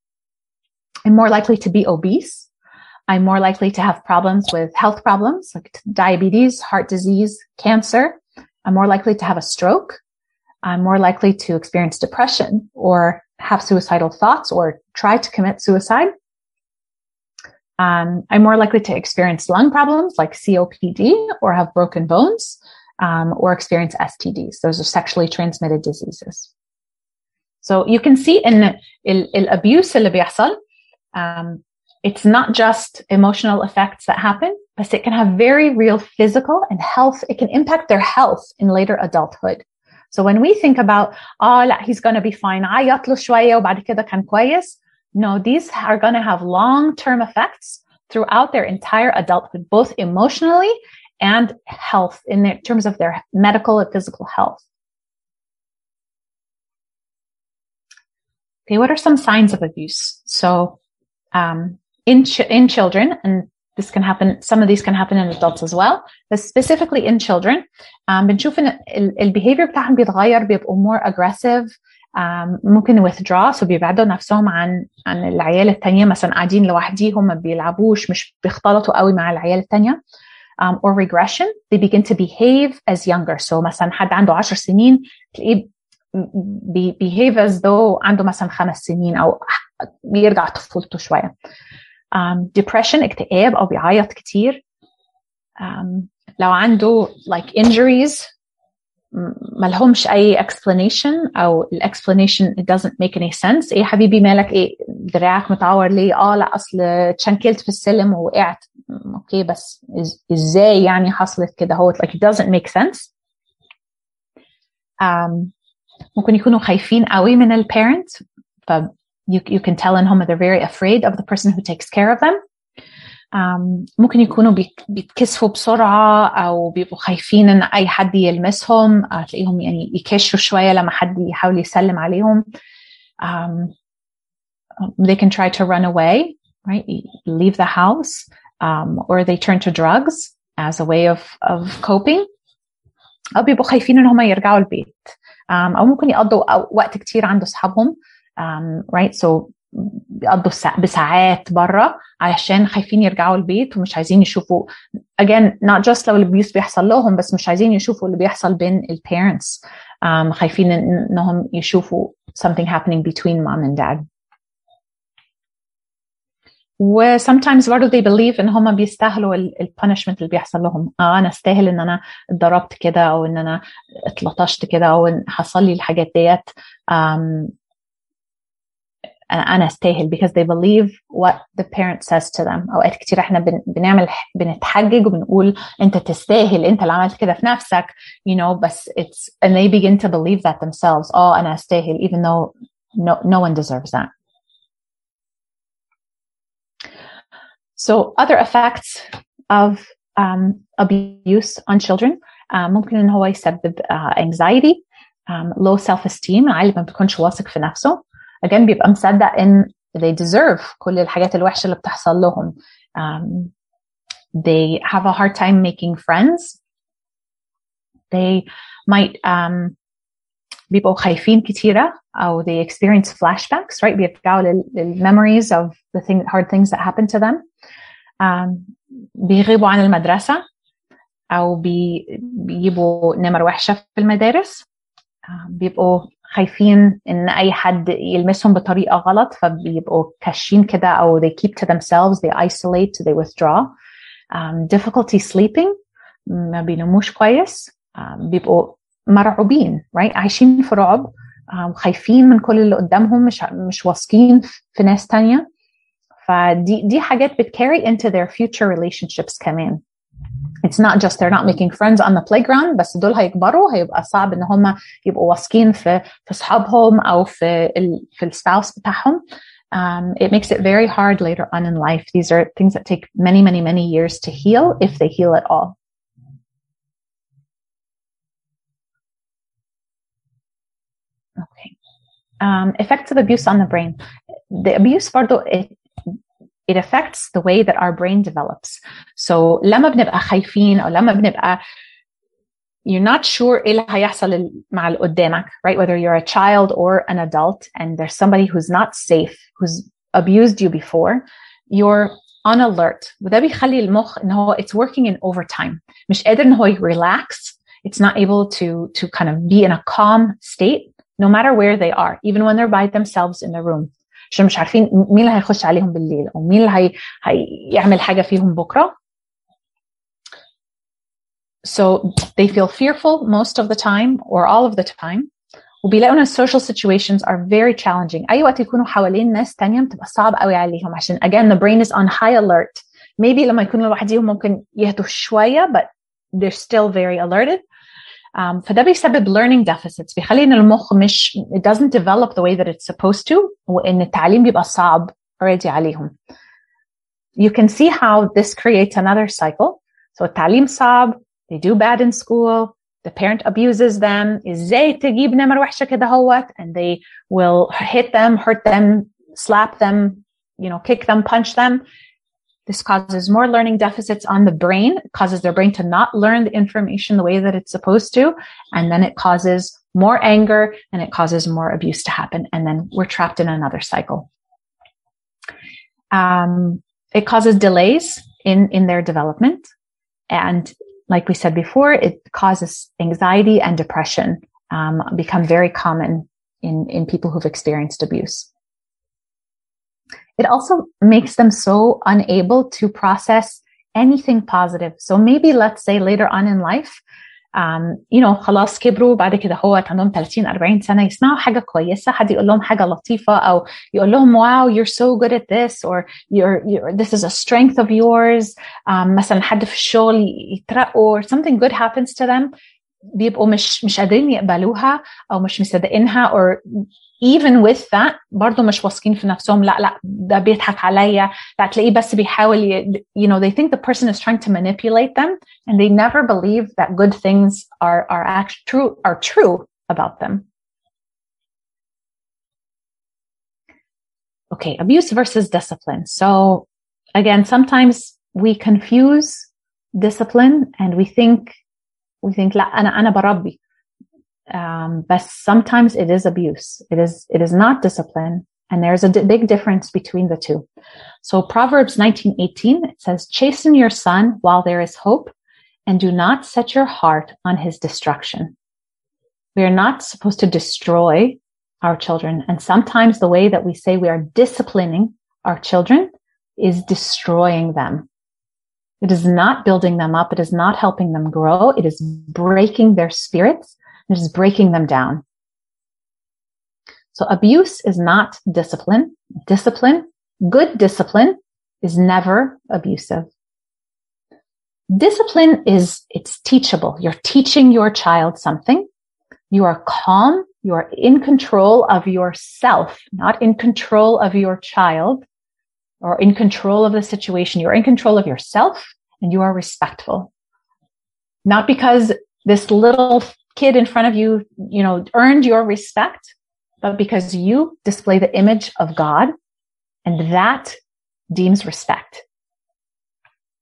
I'm more likely to be obese. I'm more likely to have problems with health problems like diabetes, heart disease, cancer. I'm more likely to have a stroke. I'm more likely to experience depression or have suicidal thoughts or try to commit suicide. Um, I'm more likely to experience lung problems like C O P D or have broken bones, um, or experience S T Ds. Those are sexually transmitted diseases. So you can see in the abuse اللي بيحصل, um, it's not just emotional effects that happen, but it can have very real physical and health. It can impact their health in later adulthood. So when we think about, oh, لا, he's going to be fine, عيط له شوية وبعد كده كان كويس. No, these are going to have long-term effects throughout their entire adulthood, both emotionally and health in their, terms of their medical and physical health. Okay, what are some signs of abuse? So um, in, ch- in children, and this can happen, some of these can happen in adults as well, but specifically in children, um, بنشوف ان ال behavior بتاعهم بيتغير, بيبقوا more aggressive, um, ممكن withdraw, so بيبعدوا نفسهم عن عن العيال التانية, مثلا قاعدين لوحديهم ما بيلعبوش, مش بيختلطوا قوي مع العيال التانية, um, or regression, they begin to behave as younger. So مثلا حد عنده عشر سنين تلاقيه behave as though عنده مثلا خمس سنين أو بيرجع طفولته شوية. Um, depression, اكتئاب أو بيعيط كتير. Um, لو عنده like injuries ملهمش أي explanation أو ال explanation it doesn't make any sense. إيه حبيبي مالك, إيه دراعك متعور ليه؟ آه لا أصل تشنكلت في السلم ووقعت. أوكي بس إزاي يعني حصلت كده؟ هو like it doesn't make sense. Um, ممكن يكونوا خايفين قوي من ال parent. ف you, you can tell إن هم they're very afraid of the person who takes care of them. Um, ممكن يكونوا بيتكسفوا بسرعة أو بيبقوا خايفين إن أي حد يلمسهم, تلاقيهم يعني يكشوا شوية لما حد يحاول يسلم عليهم. Um, they can try to run away, right? Leave the house, um, or they turn to drugs as a way of of coping. أو بيبقوا خايفين إن هم يرجعوا البيت. Um, أو ممكن يقضوا وقت كتير عند أصحابهم, um, right? So بيقضوا بساعات برا علشان خايفين يرجعوا البيت ومش عايزين يشوفوا again not just لو الابيوس بيحصل لهم, بس مش عايزين يشوفوا اللي بيحصل بين ال parents, um, خايفين إنهم يشوفوا something happening between mom and dad. و sometimes برضو they believe إن هم بيستاهلوا ال punishment اللي بيحصل لهم. آه أنا استاهل إن أنا اتضربت كده أو إن أنا اتلطشت كده أو إن حصل لي الحاجات ديت. um, أنا أستاهل because they believe what the parent says to them. أوقات كتير إحنا بن, بنعمل بنتحجج وبنقول أنت تستاهل, أنت اللي عملت كده في نفسك, you know, بس it's and they begin to believe that themselves. Oh, أنا أستاهل, even though no no one deserves that. So other effects of um, abuse on children, uh, ممكن إن هو يسبب uh, anxiety, um, low self-esteem, عيل ما بيكونش واثق في نفسه. again بيبقى مصدق إن they deserve كل الحاجات الوحشة اللي بتحصل لهم. um, They have a hard time making friends. They might um, بيبقوا خايفين كتيرة, or they experience flashbacks, right? بيرجعوا لل memories of the thing, hard things that happened to them. Um, بيغيبوا عن المدرسة, أو بي, بيجيبوا نمر وحشة في المدارس. um, بيبقوا خايفين إن أي حد يلمسهم بطريقة غلط, فبيبقوا كاشين كده, أو they keep to themselves, they isolate, they withdraw. Um, difficulty sleeping, ما بيناموش كويس. um, بيبقوا مرعوبين, right? عايشين في رعب, um, خايفين من كل اللي قدامهم, مش مش واثقين في ناس تانية. فدي دي حاجات بت carry into their future relationships كمان. It's not just they're not making friends on the playground, بس دول هيكبروا هيبقى صعب ان هم يبقوا واثقين في في اصحابهم او في ال في السباوس بتاعهم. Um, it makes it very hard later on in life. These are things that take many, many, many years to heal, if they heal at all. Okay. Um, effects of abuse on the brain. The abuse برضو, it, it affects the way that our brain develops. So لما بنبقى خايفين, أو لما بنبقى you're not sure إيه اللي هيحصل مع اللي قدامك, right? Whether you're a child or an adult, and there's somebody who's not safe, who's abused you before, you're on alert. وده بيخلي المخ إن هو it's working in overtime. مش قادر إن هو relax. It's not able to to kind of be in a calm state, no matter where they are, even when they're by themselves in the room. عشان مش عارفين مين اللي هيخش عليهم بالليل, أو مين اللي هي هيعمل حاجة فيهم بكرة. So they feel fearful most of the time, or all of the time. وبيلاقوا ان social situations are very challenging. أي وقت يكونوا حوالين ناس تانية بتبقى صعب قوي عليهم, عشان again the brain is on high alert. Maybe لما يكونوا لوحديهم ممكن يهدوا شوية, but they're still very alerted. Um, فده بيسبب learning deficits, بيخلي ان المخ مش it doesn't develop the way that it's supposed to, وان التعليم بيبقى صعب already عليهم. You can see how this creates another cycle. So التعليم صعب, they do bad in school, the parent abuses them, ازاي تجيب نمر وحشة كده هوت, and they will hit them, hurt them, slap them, you know, kick them, punch them. This causes more learning deficits on the brain. It causes their brain to not learn the information the way that it's supposed to. And then it causes more anger, and it causes more abuse to happen. And then we're trapped in another cycle. Um, it causes delays in, in their development. And like we said before, it causes anxiety and depression, um, become very common in, in people who've experienced abuse. It also makes them so unable to process anything positive. So maybe let's say later on in life, um, you know, خلاص كبروا بعد كده هو عندهم ثلاثين أربعين سنة, يسمعوا حاجة كويسة, حد يقول لهم حاجة لطيفة, أو يقول لهم wow, you're so good at this, or you're, you're this is a strength of yours. Um, مثلا حد في الشغل يترقوا, or something good happens to them, بيبقوا مش مش قادرين يقبلوها, أو مش مصدقينها, or even with that برضو مش واثقين في نفسهم. لا لا ده بيضحك عليا, لا تلاقيه بس بيحاول ي... you know, they think the person is trying to manipulate them, and they never believe that good things are are actually true are true about them. Okay, abuse versus discipline. So again, sometimes we confuse discipline, and we think we think لا أنا أنا بربي. Um, but sometimes it is abuse. It is, it is not discipline. And there's a d- big difference between the two. So Proverbs nineteen eighteen, it says, chasten your son while there is hope, and do not set your heart on his destruction. We are not supposed to destroy our children. And sometimes the way that we say we are disciplining our children is destroying them. It is not building them up. It is not helping them grow. It is breaking their spirits. It is breaking them down. So abuse is not discipline. Discipline, good discipline, is never abusive. Discipline is, it's teachable. You're teaching your child something. You are calm. You are in control of yourself, not in control of your child or in control of the situation. You're in control of yourself, and you are respectful. Not because this little kid in front of you, you know, earned your respect, but because you display the image of God, and that deems respect.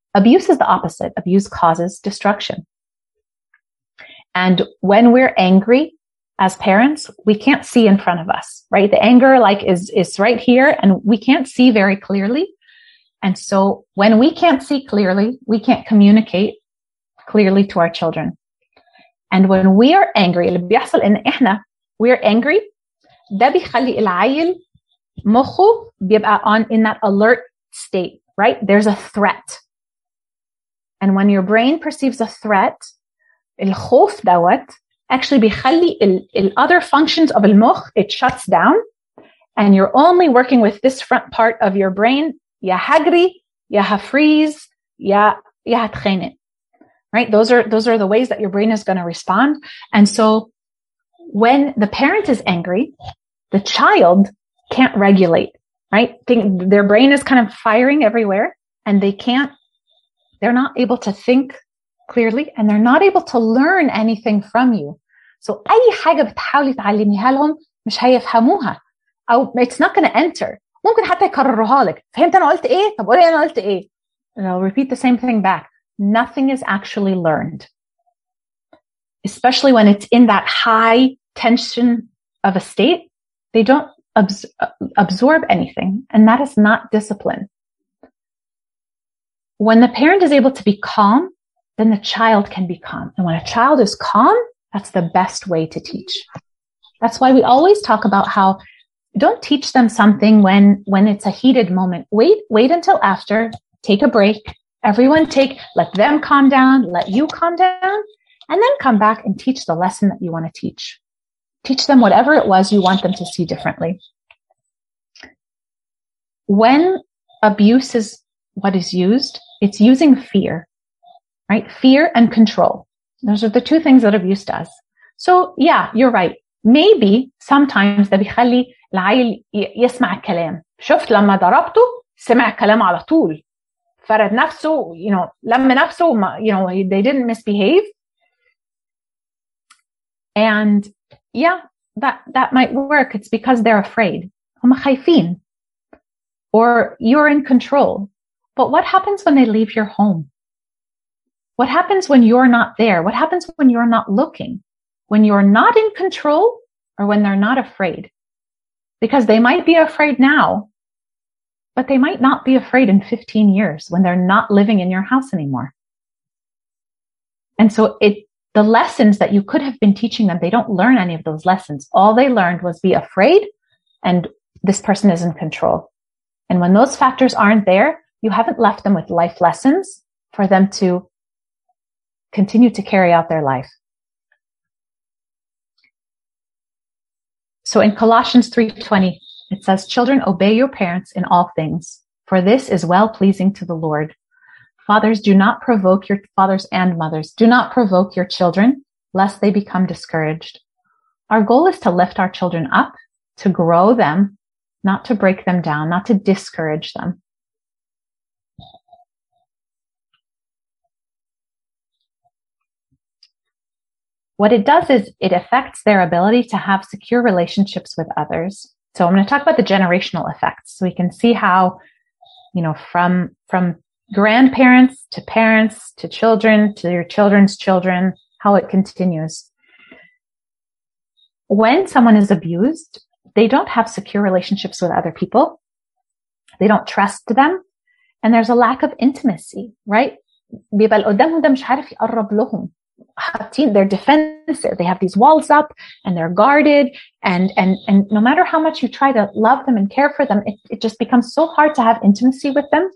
abuse is the opposite. Abuse causes destruction. And when we're angry as parents, we can't see in front of us, right? The anger like is, is right here and we can't see very clearly. And so when we can't see clearly, we can't communicate clearly to our children. And when we are angry, اللي بيحصل إن إحنا we're angry, ده بيخلي العيل مخه بيبقى on in that alert state, right? There's a threat. And when your brain perceives a threat, الخوف دوت actually بيخلي ال, ال other functions of المخ, it shuts down and you're only working with this front part of your brain. يا هجري, يا هفreeze, يا يا هتخانق. Right? Those are, those are the ways that your brain is going to respond. And so when the parent is angry, the child can't regulate, right? Think, their brain is kind of firing everywhere and they can't, they're not able to think clearly and they're not able to learn anything from you. So أي حاجة بتحاولي تعلميها لهم مش هيفهموها أو it's not going to enter. ممكن حتى يكرروها لك. فهمت أنا قلت إيه؟ طب قولي أنا قلت إيه? And I'll repeat the same thing back. Nothing is actually learned, especially when it's in that high tension of a state. They don't abs- absorb anything, and that is not discipline. When the parent is able to be calm, then the child can be calm. And when a child is calm, that's the best way to teach. That's why we always talk about how don't teach them something when, when it's a heated moment. Wait, wait until after, take a break. Everyone take, let them calm down, let you calm down, and then come back and teach the lesson that you want to teach. Teach them whatever it was you want them to see differently. When abuse is what is used, it's using fear, right? Fear and control. Those are the two things that abuse does. So yeah, you're right. Maybe sometimes ده بيخلي العيل يسمع الكلام. شفت لما ضربته سمع الكلام على طول. فرد نفسه, you know, لم نفسه, you know, they didn't misbehave. And yeah, that, that might work. It's because they're afraid. هم خايفين. Or you're in control. But what happens when they leave your home? What happens when you're not there? What happens when you're not looking? When you're not in control or when they're not afraid? Because they might be afraid now, but they might not be afraid in fifteen years when they're not living in your house anymore. And so it, the lessons that you could have been teaching them, they don't learn any of those lessons. All they learned was be afraid and this person is in control. And when those factors aren't there, you haven't left them with life lessons for them to continue to carry out their life. So in Colossians three twenty, it says, children, obey your parents in all things, for this is well-pleasing to the Lord. Fathers, do not provoke your fathers and mothers. Do not provoke your children, lest they become discouraged. Our goal is to lift our children up, to grow them, not to break them down, not to discourage them. What it does is it affects their ability to have secure relationships with others. So I'm going to talk about the generational effects so we can see how, you know, from, from grandparents to parents to children to your children's children, how it continues. When someone is abused, they don't have secure relationships with other people. They don't trust them. And there's a lack of intimacy, right? بيبقى اللي قدامهم ده مش عارف يقرب لهم. They're defensive. They have these walls up and they're guarded. And, and, and no matter how much you try to love them and care for them, it, it just becomes so hard to have intimacy with them.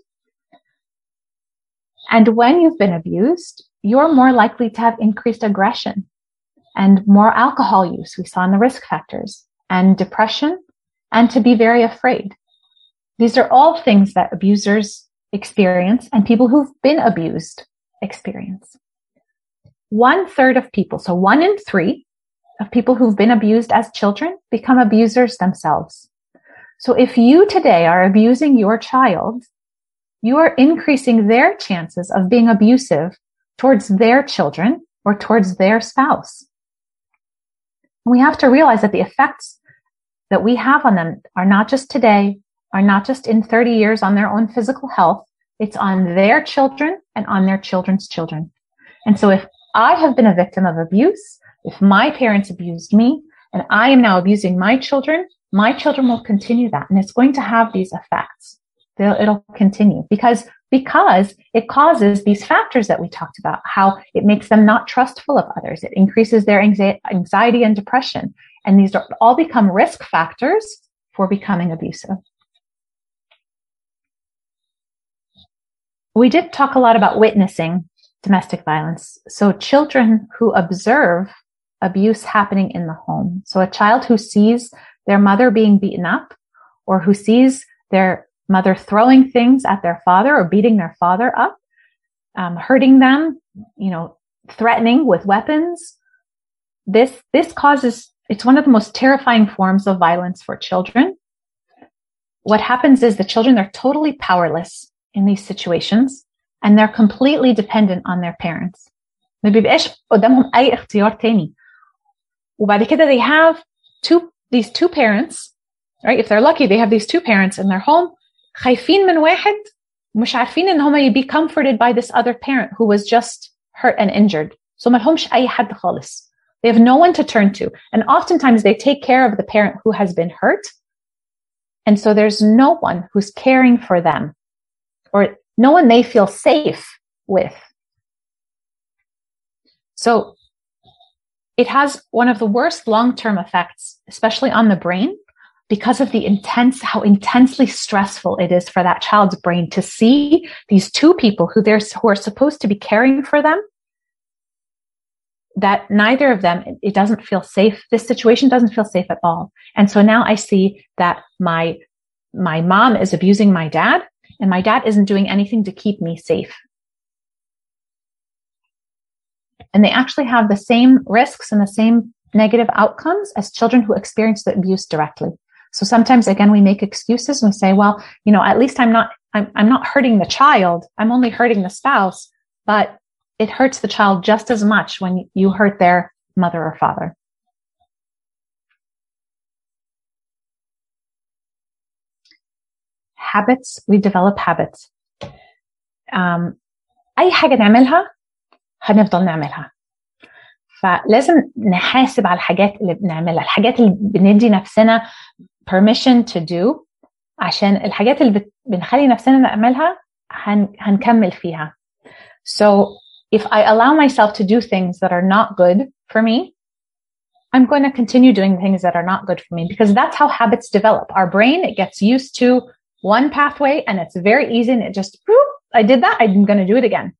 And when you've been abused, you're more likely to have increased aggression and more alcohol use. We saw in the risk factors, and depression, and to be very afraid. These are all things that abusers experience and people who've been abused experience. One third of people, so one in three of people who've been abused as children become abusers themselves. So if you today are abusing your child, you are increasing their chances of being abusive towards their children or towards their spouse. We have to realize that the effects that we have on them are not just today, are not just in thirty years on their own physical health, it's on their children and on their children's children. And so if I have been a victim of abuse, if my parents abused me and I am now abusing my children, my children will continue that. And it's going to have these effects. They'll, it'll continue because, because it causes these factors that we talked about, how it makes them not trustful of others. It increases their anxiety and depression. And these are all become risk factors for becoming abusive. We did talk a lot about witnessing domestic violence. So children who observe abuse happening in the home. So a child who sees their mother being beaten up or who sees their mother throwing things at their father or beating their father up, um, hurting them, you know, threatening with weapons. This, this causes, it's one of the most terrifying forms of violence for children. What happens is the children are totally powerless in these situations and they're completely dependent on their parents. ما بيبقاش قدامهم أي اختيار تاني. وبعد كده they have two, these two parents, right? If they're lucky, they have these two parents in their home. خايفين من واحد مش عارفين إن هما be comforted by this other parent who was just hurt and injured. So ما لهمش أي حد خالص. They have no one to turn to. And oftentimes they take care of the parent who has been hurt. And so there's no one who's caring for them or no one they feel safe with. So it has one of the worst long-term effects, especially on the brain, because of the intense, how intensely stressful it is for that child's brain to see these two people who they're, who are supposed to be caring for them, that neither of them, it doesn't feel safe. This situation doesn't feel safe at all. And so now I see that my, my mom is abusing my dad and my dad isn't doing anything to keep me safe. And they actually have the same risks and the same negative outcomes as children who experience the abuse directly. So sometimes, again, we make excuses and we say, well, you know, at least I'm not, I'm, I'm not hurting the child. I'm only hurting the spouse, but it hurts the child just as much when you hurt their mother or father. Habits, we develop habits. Um, أي حاجة نعملها هنفضل نعملها. فلازم نحاسب على الحاجات اللي بنعملها، الحاجات اللي بندي نفسنا permission to do، عشان الحاجات اللي بنخلي نفسنا نعملها هن, هنكمل فيها. So if I allow myself to do things that are not good for me, I'm going to continue doing things that are not good for me because that's how habits develop. Our brain, it gets used to one pathway and it's very easy and it just, I did that, I'm going to do it again.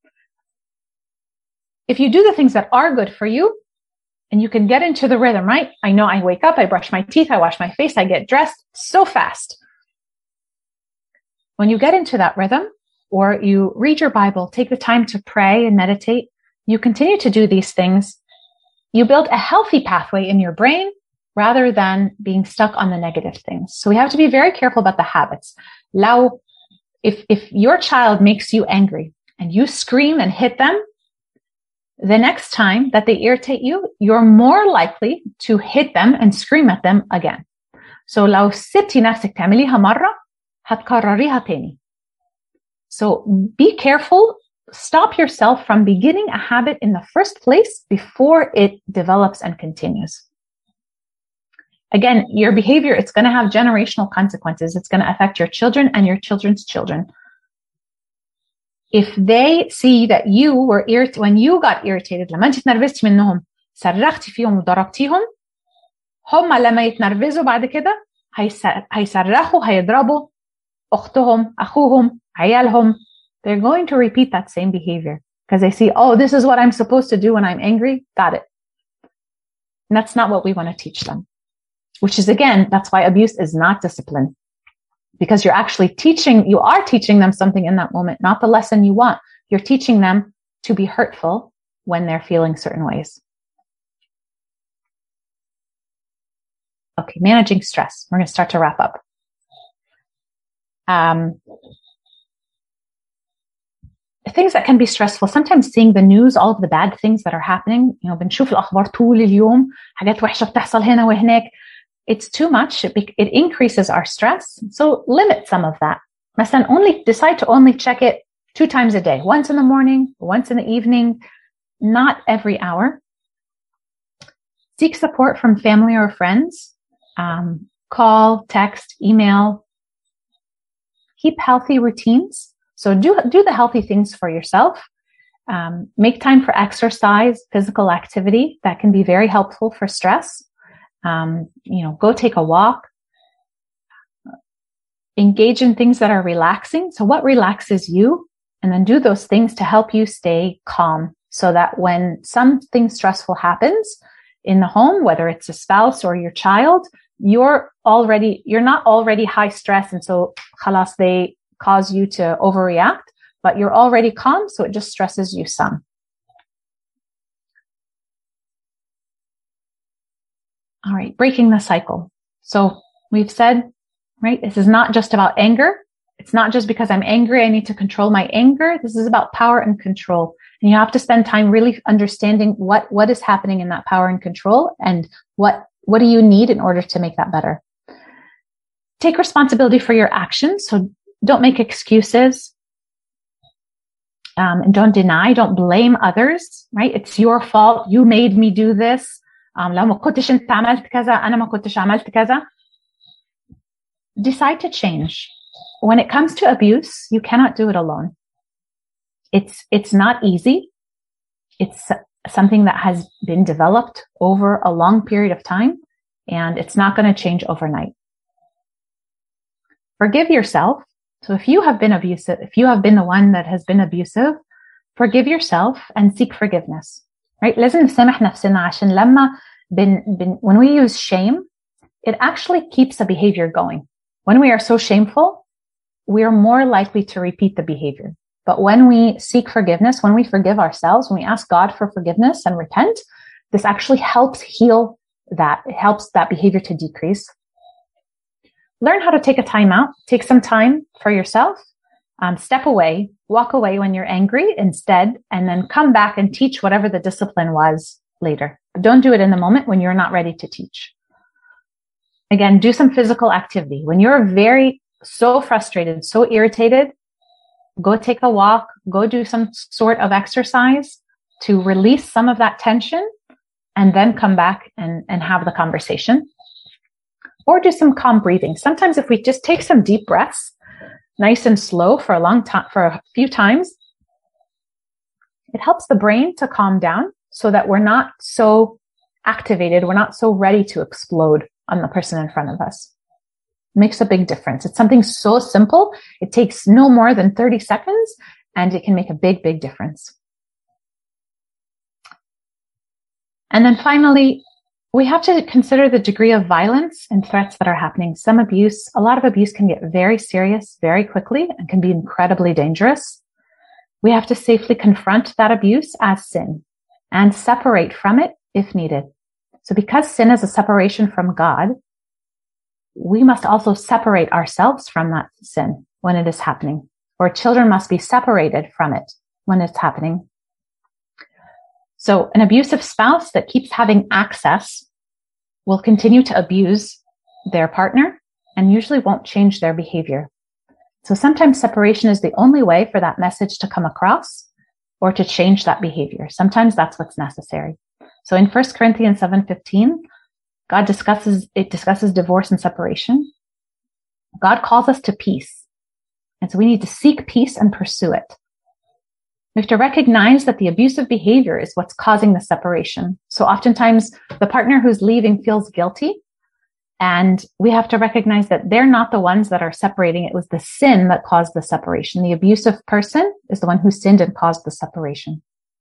If you do the things that are good for you and you can get into the rhythm, right? I know I wake up, I brush my teeth, I wash my face, I get dressed so fast. When you get into that rhythm or you read your Bible, take the time to pray and meditate, you continue to do these things. You build a healthy pathway in your brain rather than being stuck on the negative things. So we have to be very careful about the habits. Now, if, if your child makes you angry and you scream and hit them, the next time that they irritate you, you're more likely to hit them and scream at them again. So لو سبتي نفسك تعمليها مرة هتكرريها تاني. So be careful. Stop yourself from beginning a habit in the first place before it develops and continues. Again, your behavior, it's going to have generational consequences. It's going to affect your children and your children's children. If they see that you were irritated, when you got irritated, لما انت تنرفزتي منهم صرختي فيهم وضربتيهم، هم لما يتنرفزوا بعد كده هيصرخوا هيضربوا أختهم أخوهم عيالهم. They're going to repeat that same behavior because they see, oh, this is what I'm supposed to do when I'm angry. Got it. And that's not what we want to teach them, which is, again, that's why abuse is not discipline. Because you're actually teaching, you are teaching them something in that moment, not the lesson you want. You're teaching them to be hurtful when they're feeling certain ways. Okay, managing stress. We're going to start to wrap up. Um, things that can be stressful. Sometimes seeing the news, all of the bad things that are happening, you know, بنشوف الأخبار طول اليوم، حاجات وحشة بتحصل هنا وهناك. It's too much. It, it increases our stress. So limit some of that. مثلا only decide to only check it two times a day, once in the morning, once in the evening, not every hour. Seek support from family or friends. Um, call, text, email. Keep healthy routines. So do, do the healthy things for yourself. Um, make time for exercise, physical activity. That can be very helpful for stress. Um, you know, go take a walk. Engage in things that are relaxing. So what relaxes you? And then do those things to help you stay calm so that when something stressful happens in the home, whether it's a spouse or your child, you're already, you're not already high stress. And so khalas, they cause you to overreact, but you're already calm. So it just stresses you some. All right. Breaking the cycle. So we've said, right, this is not just about anger. It's not just because I'm angry, I need to control my anger. This is about power and control. And you have to spend time really understanding what, what is happening in that power and control and what, what do you need in order to make that better. Take responsibility for your actions. So don't make excuses. Um, and don't deny, don't blame others, right? It's your fault. You made me do this. Um, لو ما كنتش انت عملت كذا, أنا ما كنتش عملت كذا. Decide to change. When it comes to abuse, you cannot do it alone. It's, it's not easy. It's something that has been developed over a long period of time, and it's not going to change overnight. Forgive yourself. So if you have been abusive, if you have been the one that has been abusive, forgive yourself and seek forgiveness, right? لازم نسامح نفسنا عشان لما بن, بن, when we use shame, it actually keeps the behavior going. When we are so shameful, we are more likely to repeat the behavior. But when we seek forgiveness, when we forgive ourselves, when we ask God for forgiveness and repent, this actually helps heal that. It helps that behavior to decrease. Learn how to take a time out. Take some time for yourself. Um, step away. Walk away when you're angry instead, and then come back and teach whatever the discipline was later. But don't do it in the moment when you're not ready to teach. Again, do some physical activity. When you're very, so frustrated, so irritated, go take a walk, go do some sort of exercise to release some of that tension, and then come back and, and have the conversation. Or do some calm breathing. Sometimes if we just take some deep breaths, nice and slow for a long time, for a few times, it helps the brain to calm down so that we're not so activated, we're not so ready to explode on the person in front of us. It makes a big difference. It's something so simple. It takes no more than thirty seconds, and it can make a big, big difference. And then finally, we have to consider the degree of violence and threats that are happening. Some abuse, a lot of abuse can get very serious very quickly and can be incredibly dangerous. We have to safely confront that abuse as sin and separate from it if needed. So because sin is a separation from God, we must also separate ourselves from that sin when it is happening, or children must be separated from it when it's happening. So an abusive spouse that keeps having access will continue to abuse their partner and usually won't change their behavior. So sometimes separation is the only way for that message to come across or to change that behavior. Sometimes that's what's necessary. So in First Corinthians seven fifteen, God discusses, it discusses divorce and separation. God calls us to peace. And so we need to seek peace and pursue it. We have to recognize that the abusive behavior is what's causing the separation. So oftentimes the partner who's leaving feels guilty, and we have to recognize that they're not the ones that are separating. It was the sin that caused the separation. The abusive person is the one who sinned and caused the separation.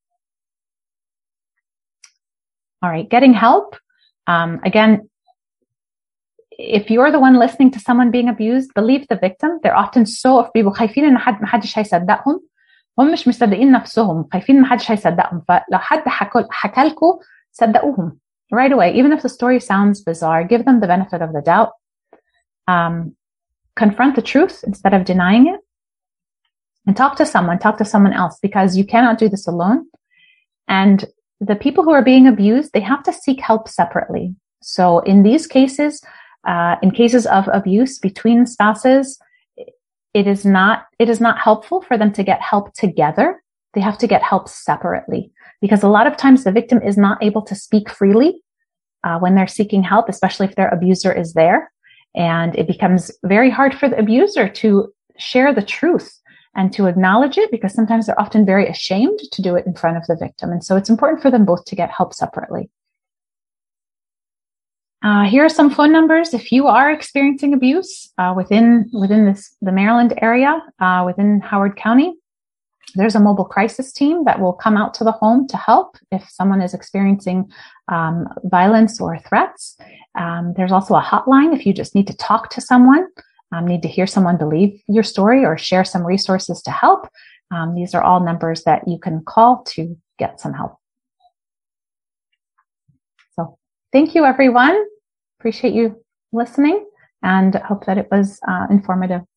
All right, getting help. Um, again, if you're the one listening to someone being abused, believe the victim. They're often so بيبقوا خايفين إن حد ما حدش هيصدقهم. هم مش مصدقين نفسهم، خايفين ما حدش هيصدقهم. فلو حد حكى لكم صدقوهم right away. Even if the story sounds bizarre, give them the benefit of the doubt. Um, confront the truth instead of denying it, and talk to someone. Talk to someone else, because you cannot do this alone. And the people who are being abused, they have to seek help separately. So in these cases, uh, in cases of abuse between spouses, it is not, it is not helpful for them to get help together. They have to get help separately, because a lot of times the victim is not able to speak freely uh, when they're seeking help, especially if their abuser is there. And it becomes very hard for the abuser to share the truth and to acknowledge it, because sometimes they're often very ashamed to do it in front of the victim. And so it's important for them both to get help separately. Uh, here are some phone numbers. If you are experiencing abuse uh, within within this the Maryland area, uh, within Howard County, there's a mobile crisis team that will come out to the home to help if someone is experiencing um, violence or threats. Um, there's also a hotline if you just need to talk to someone, um, need to hear someone believe your story or share some resources to help. Um, these are all numbers that you can call to get some help. So thank you, everyone. Appreciate you listening, and hope that it was uh, informative.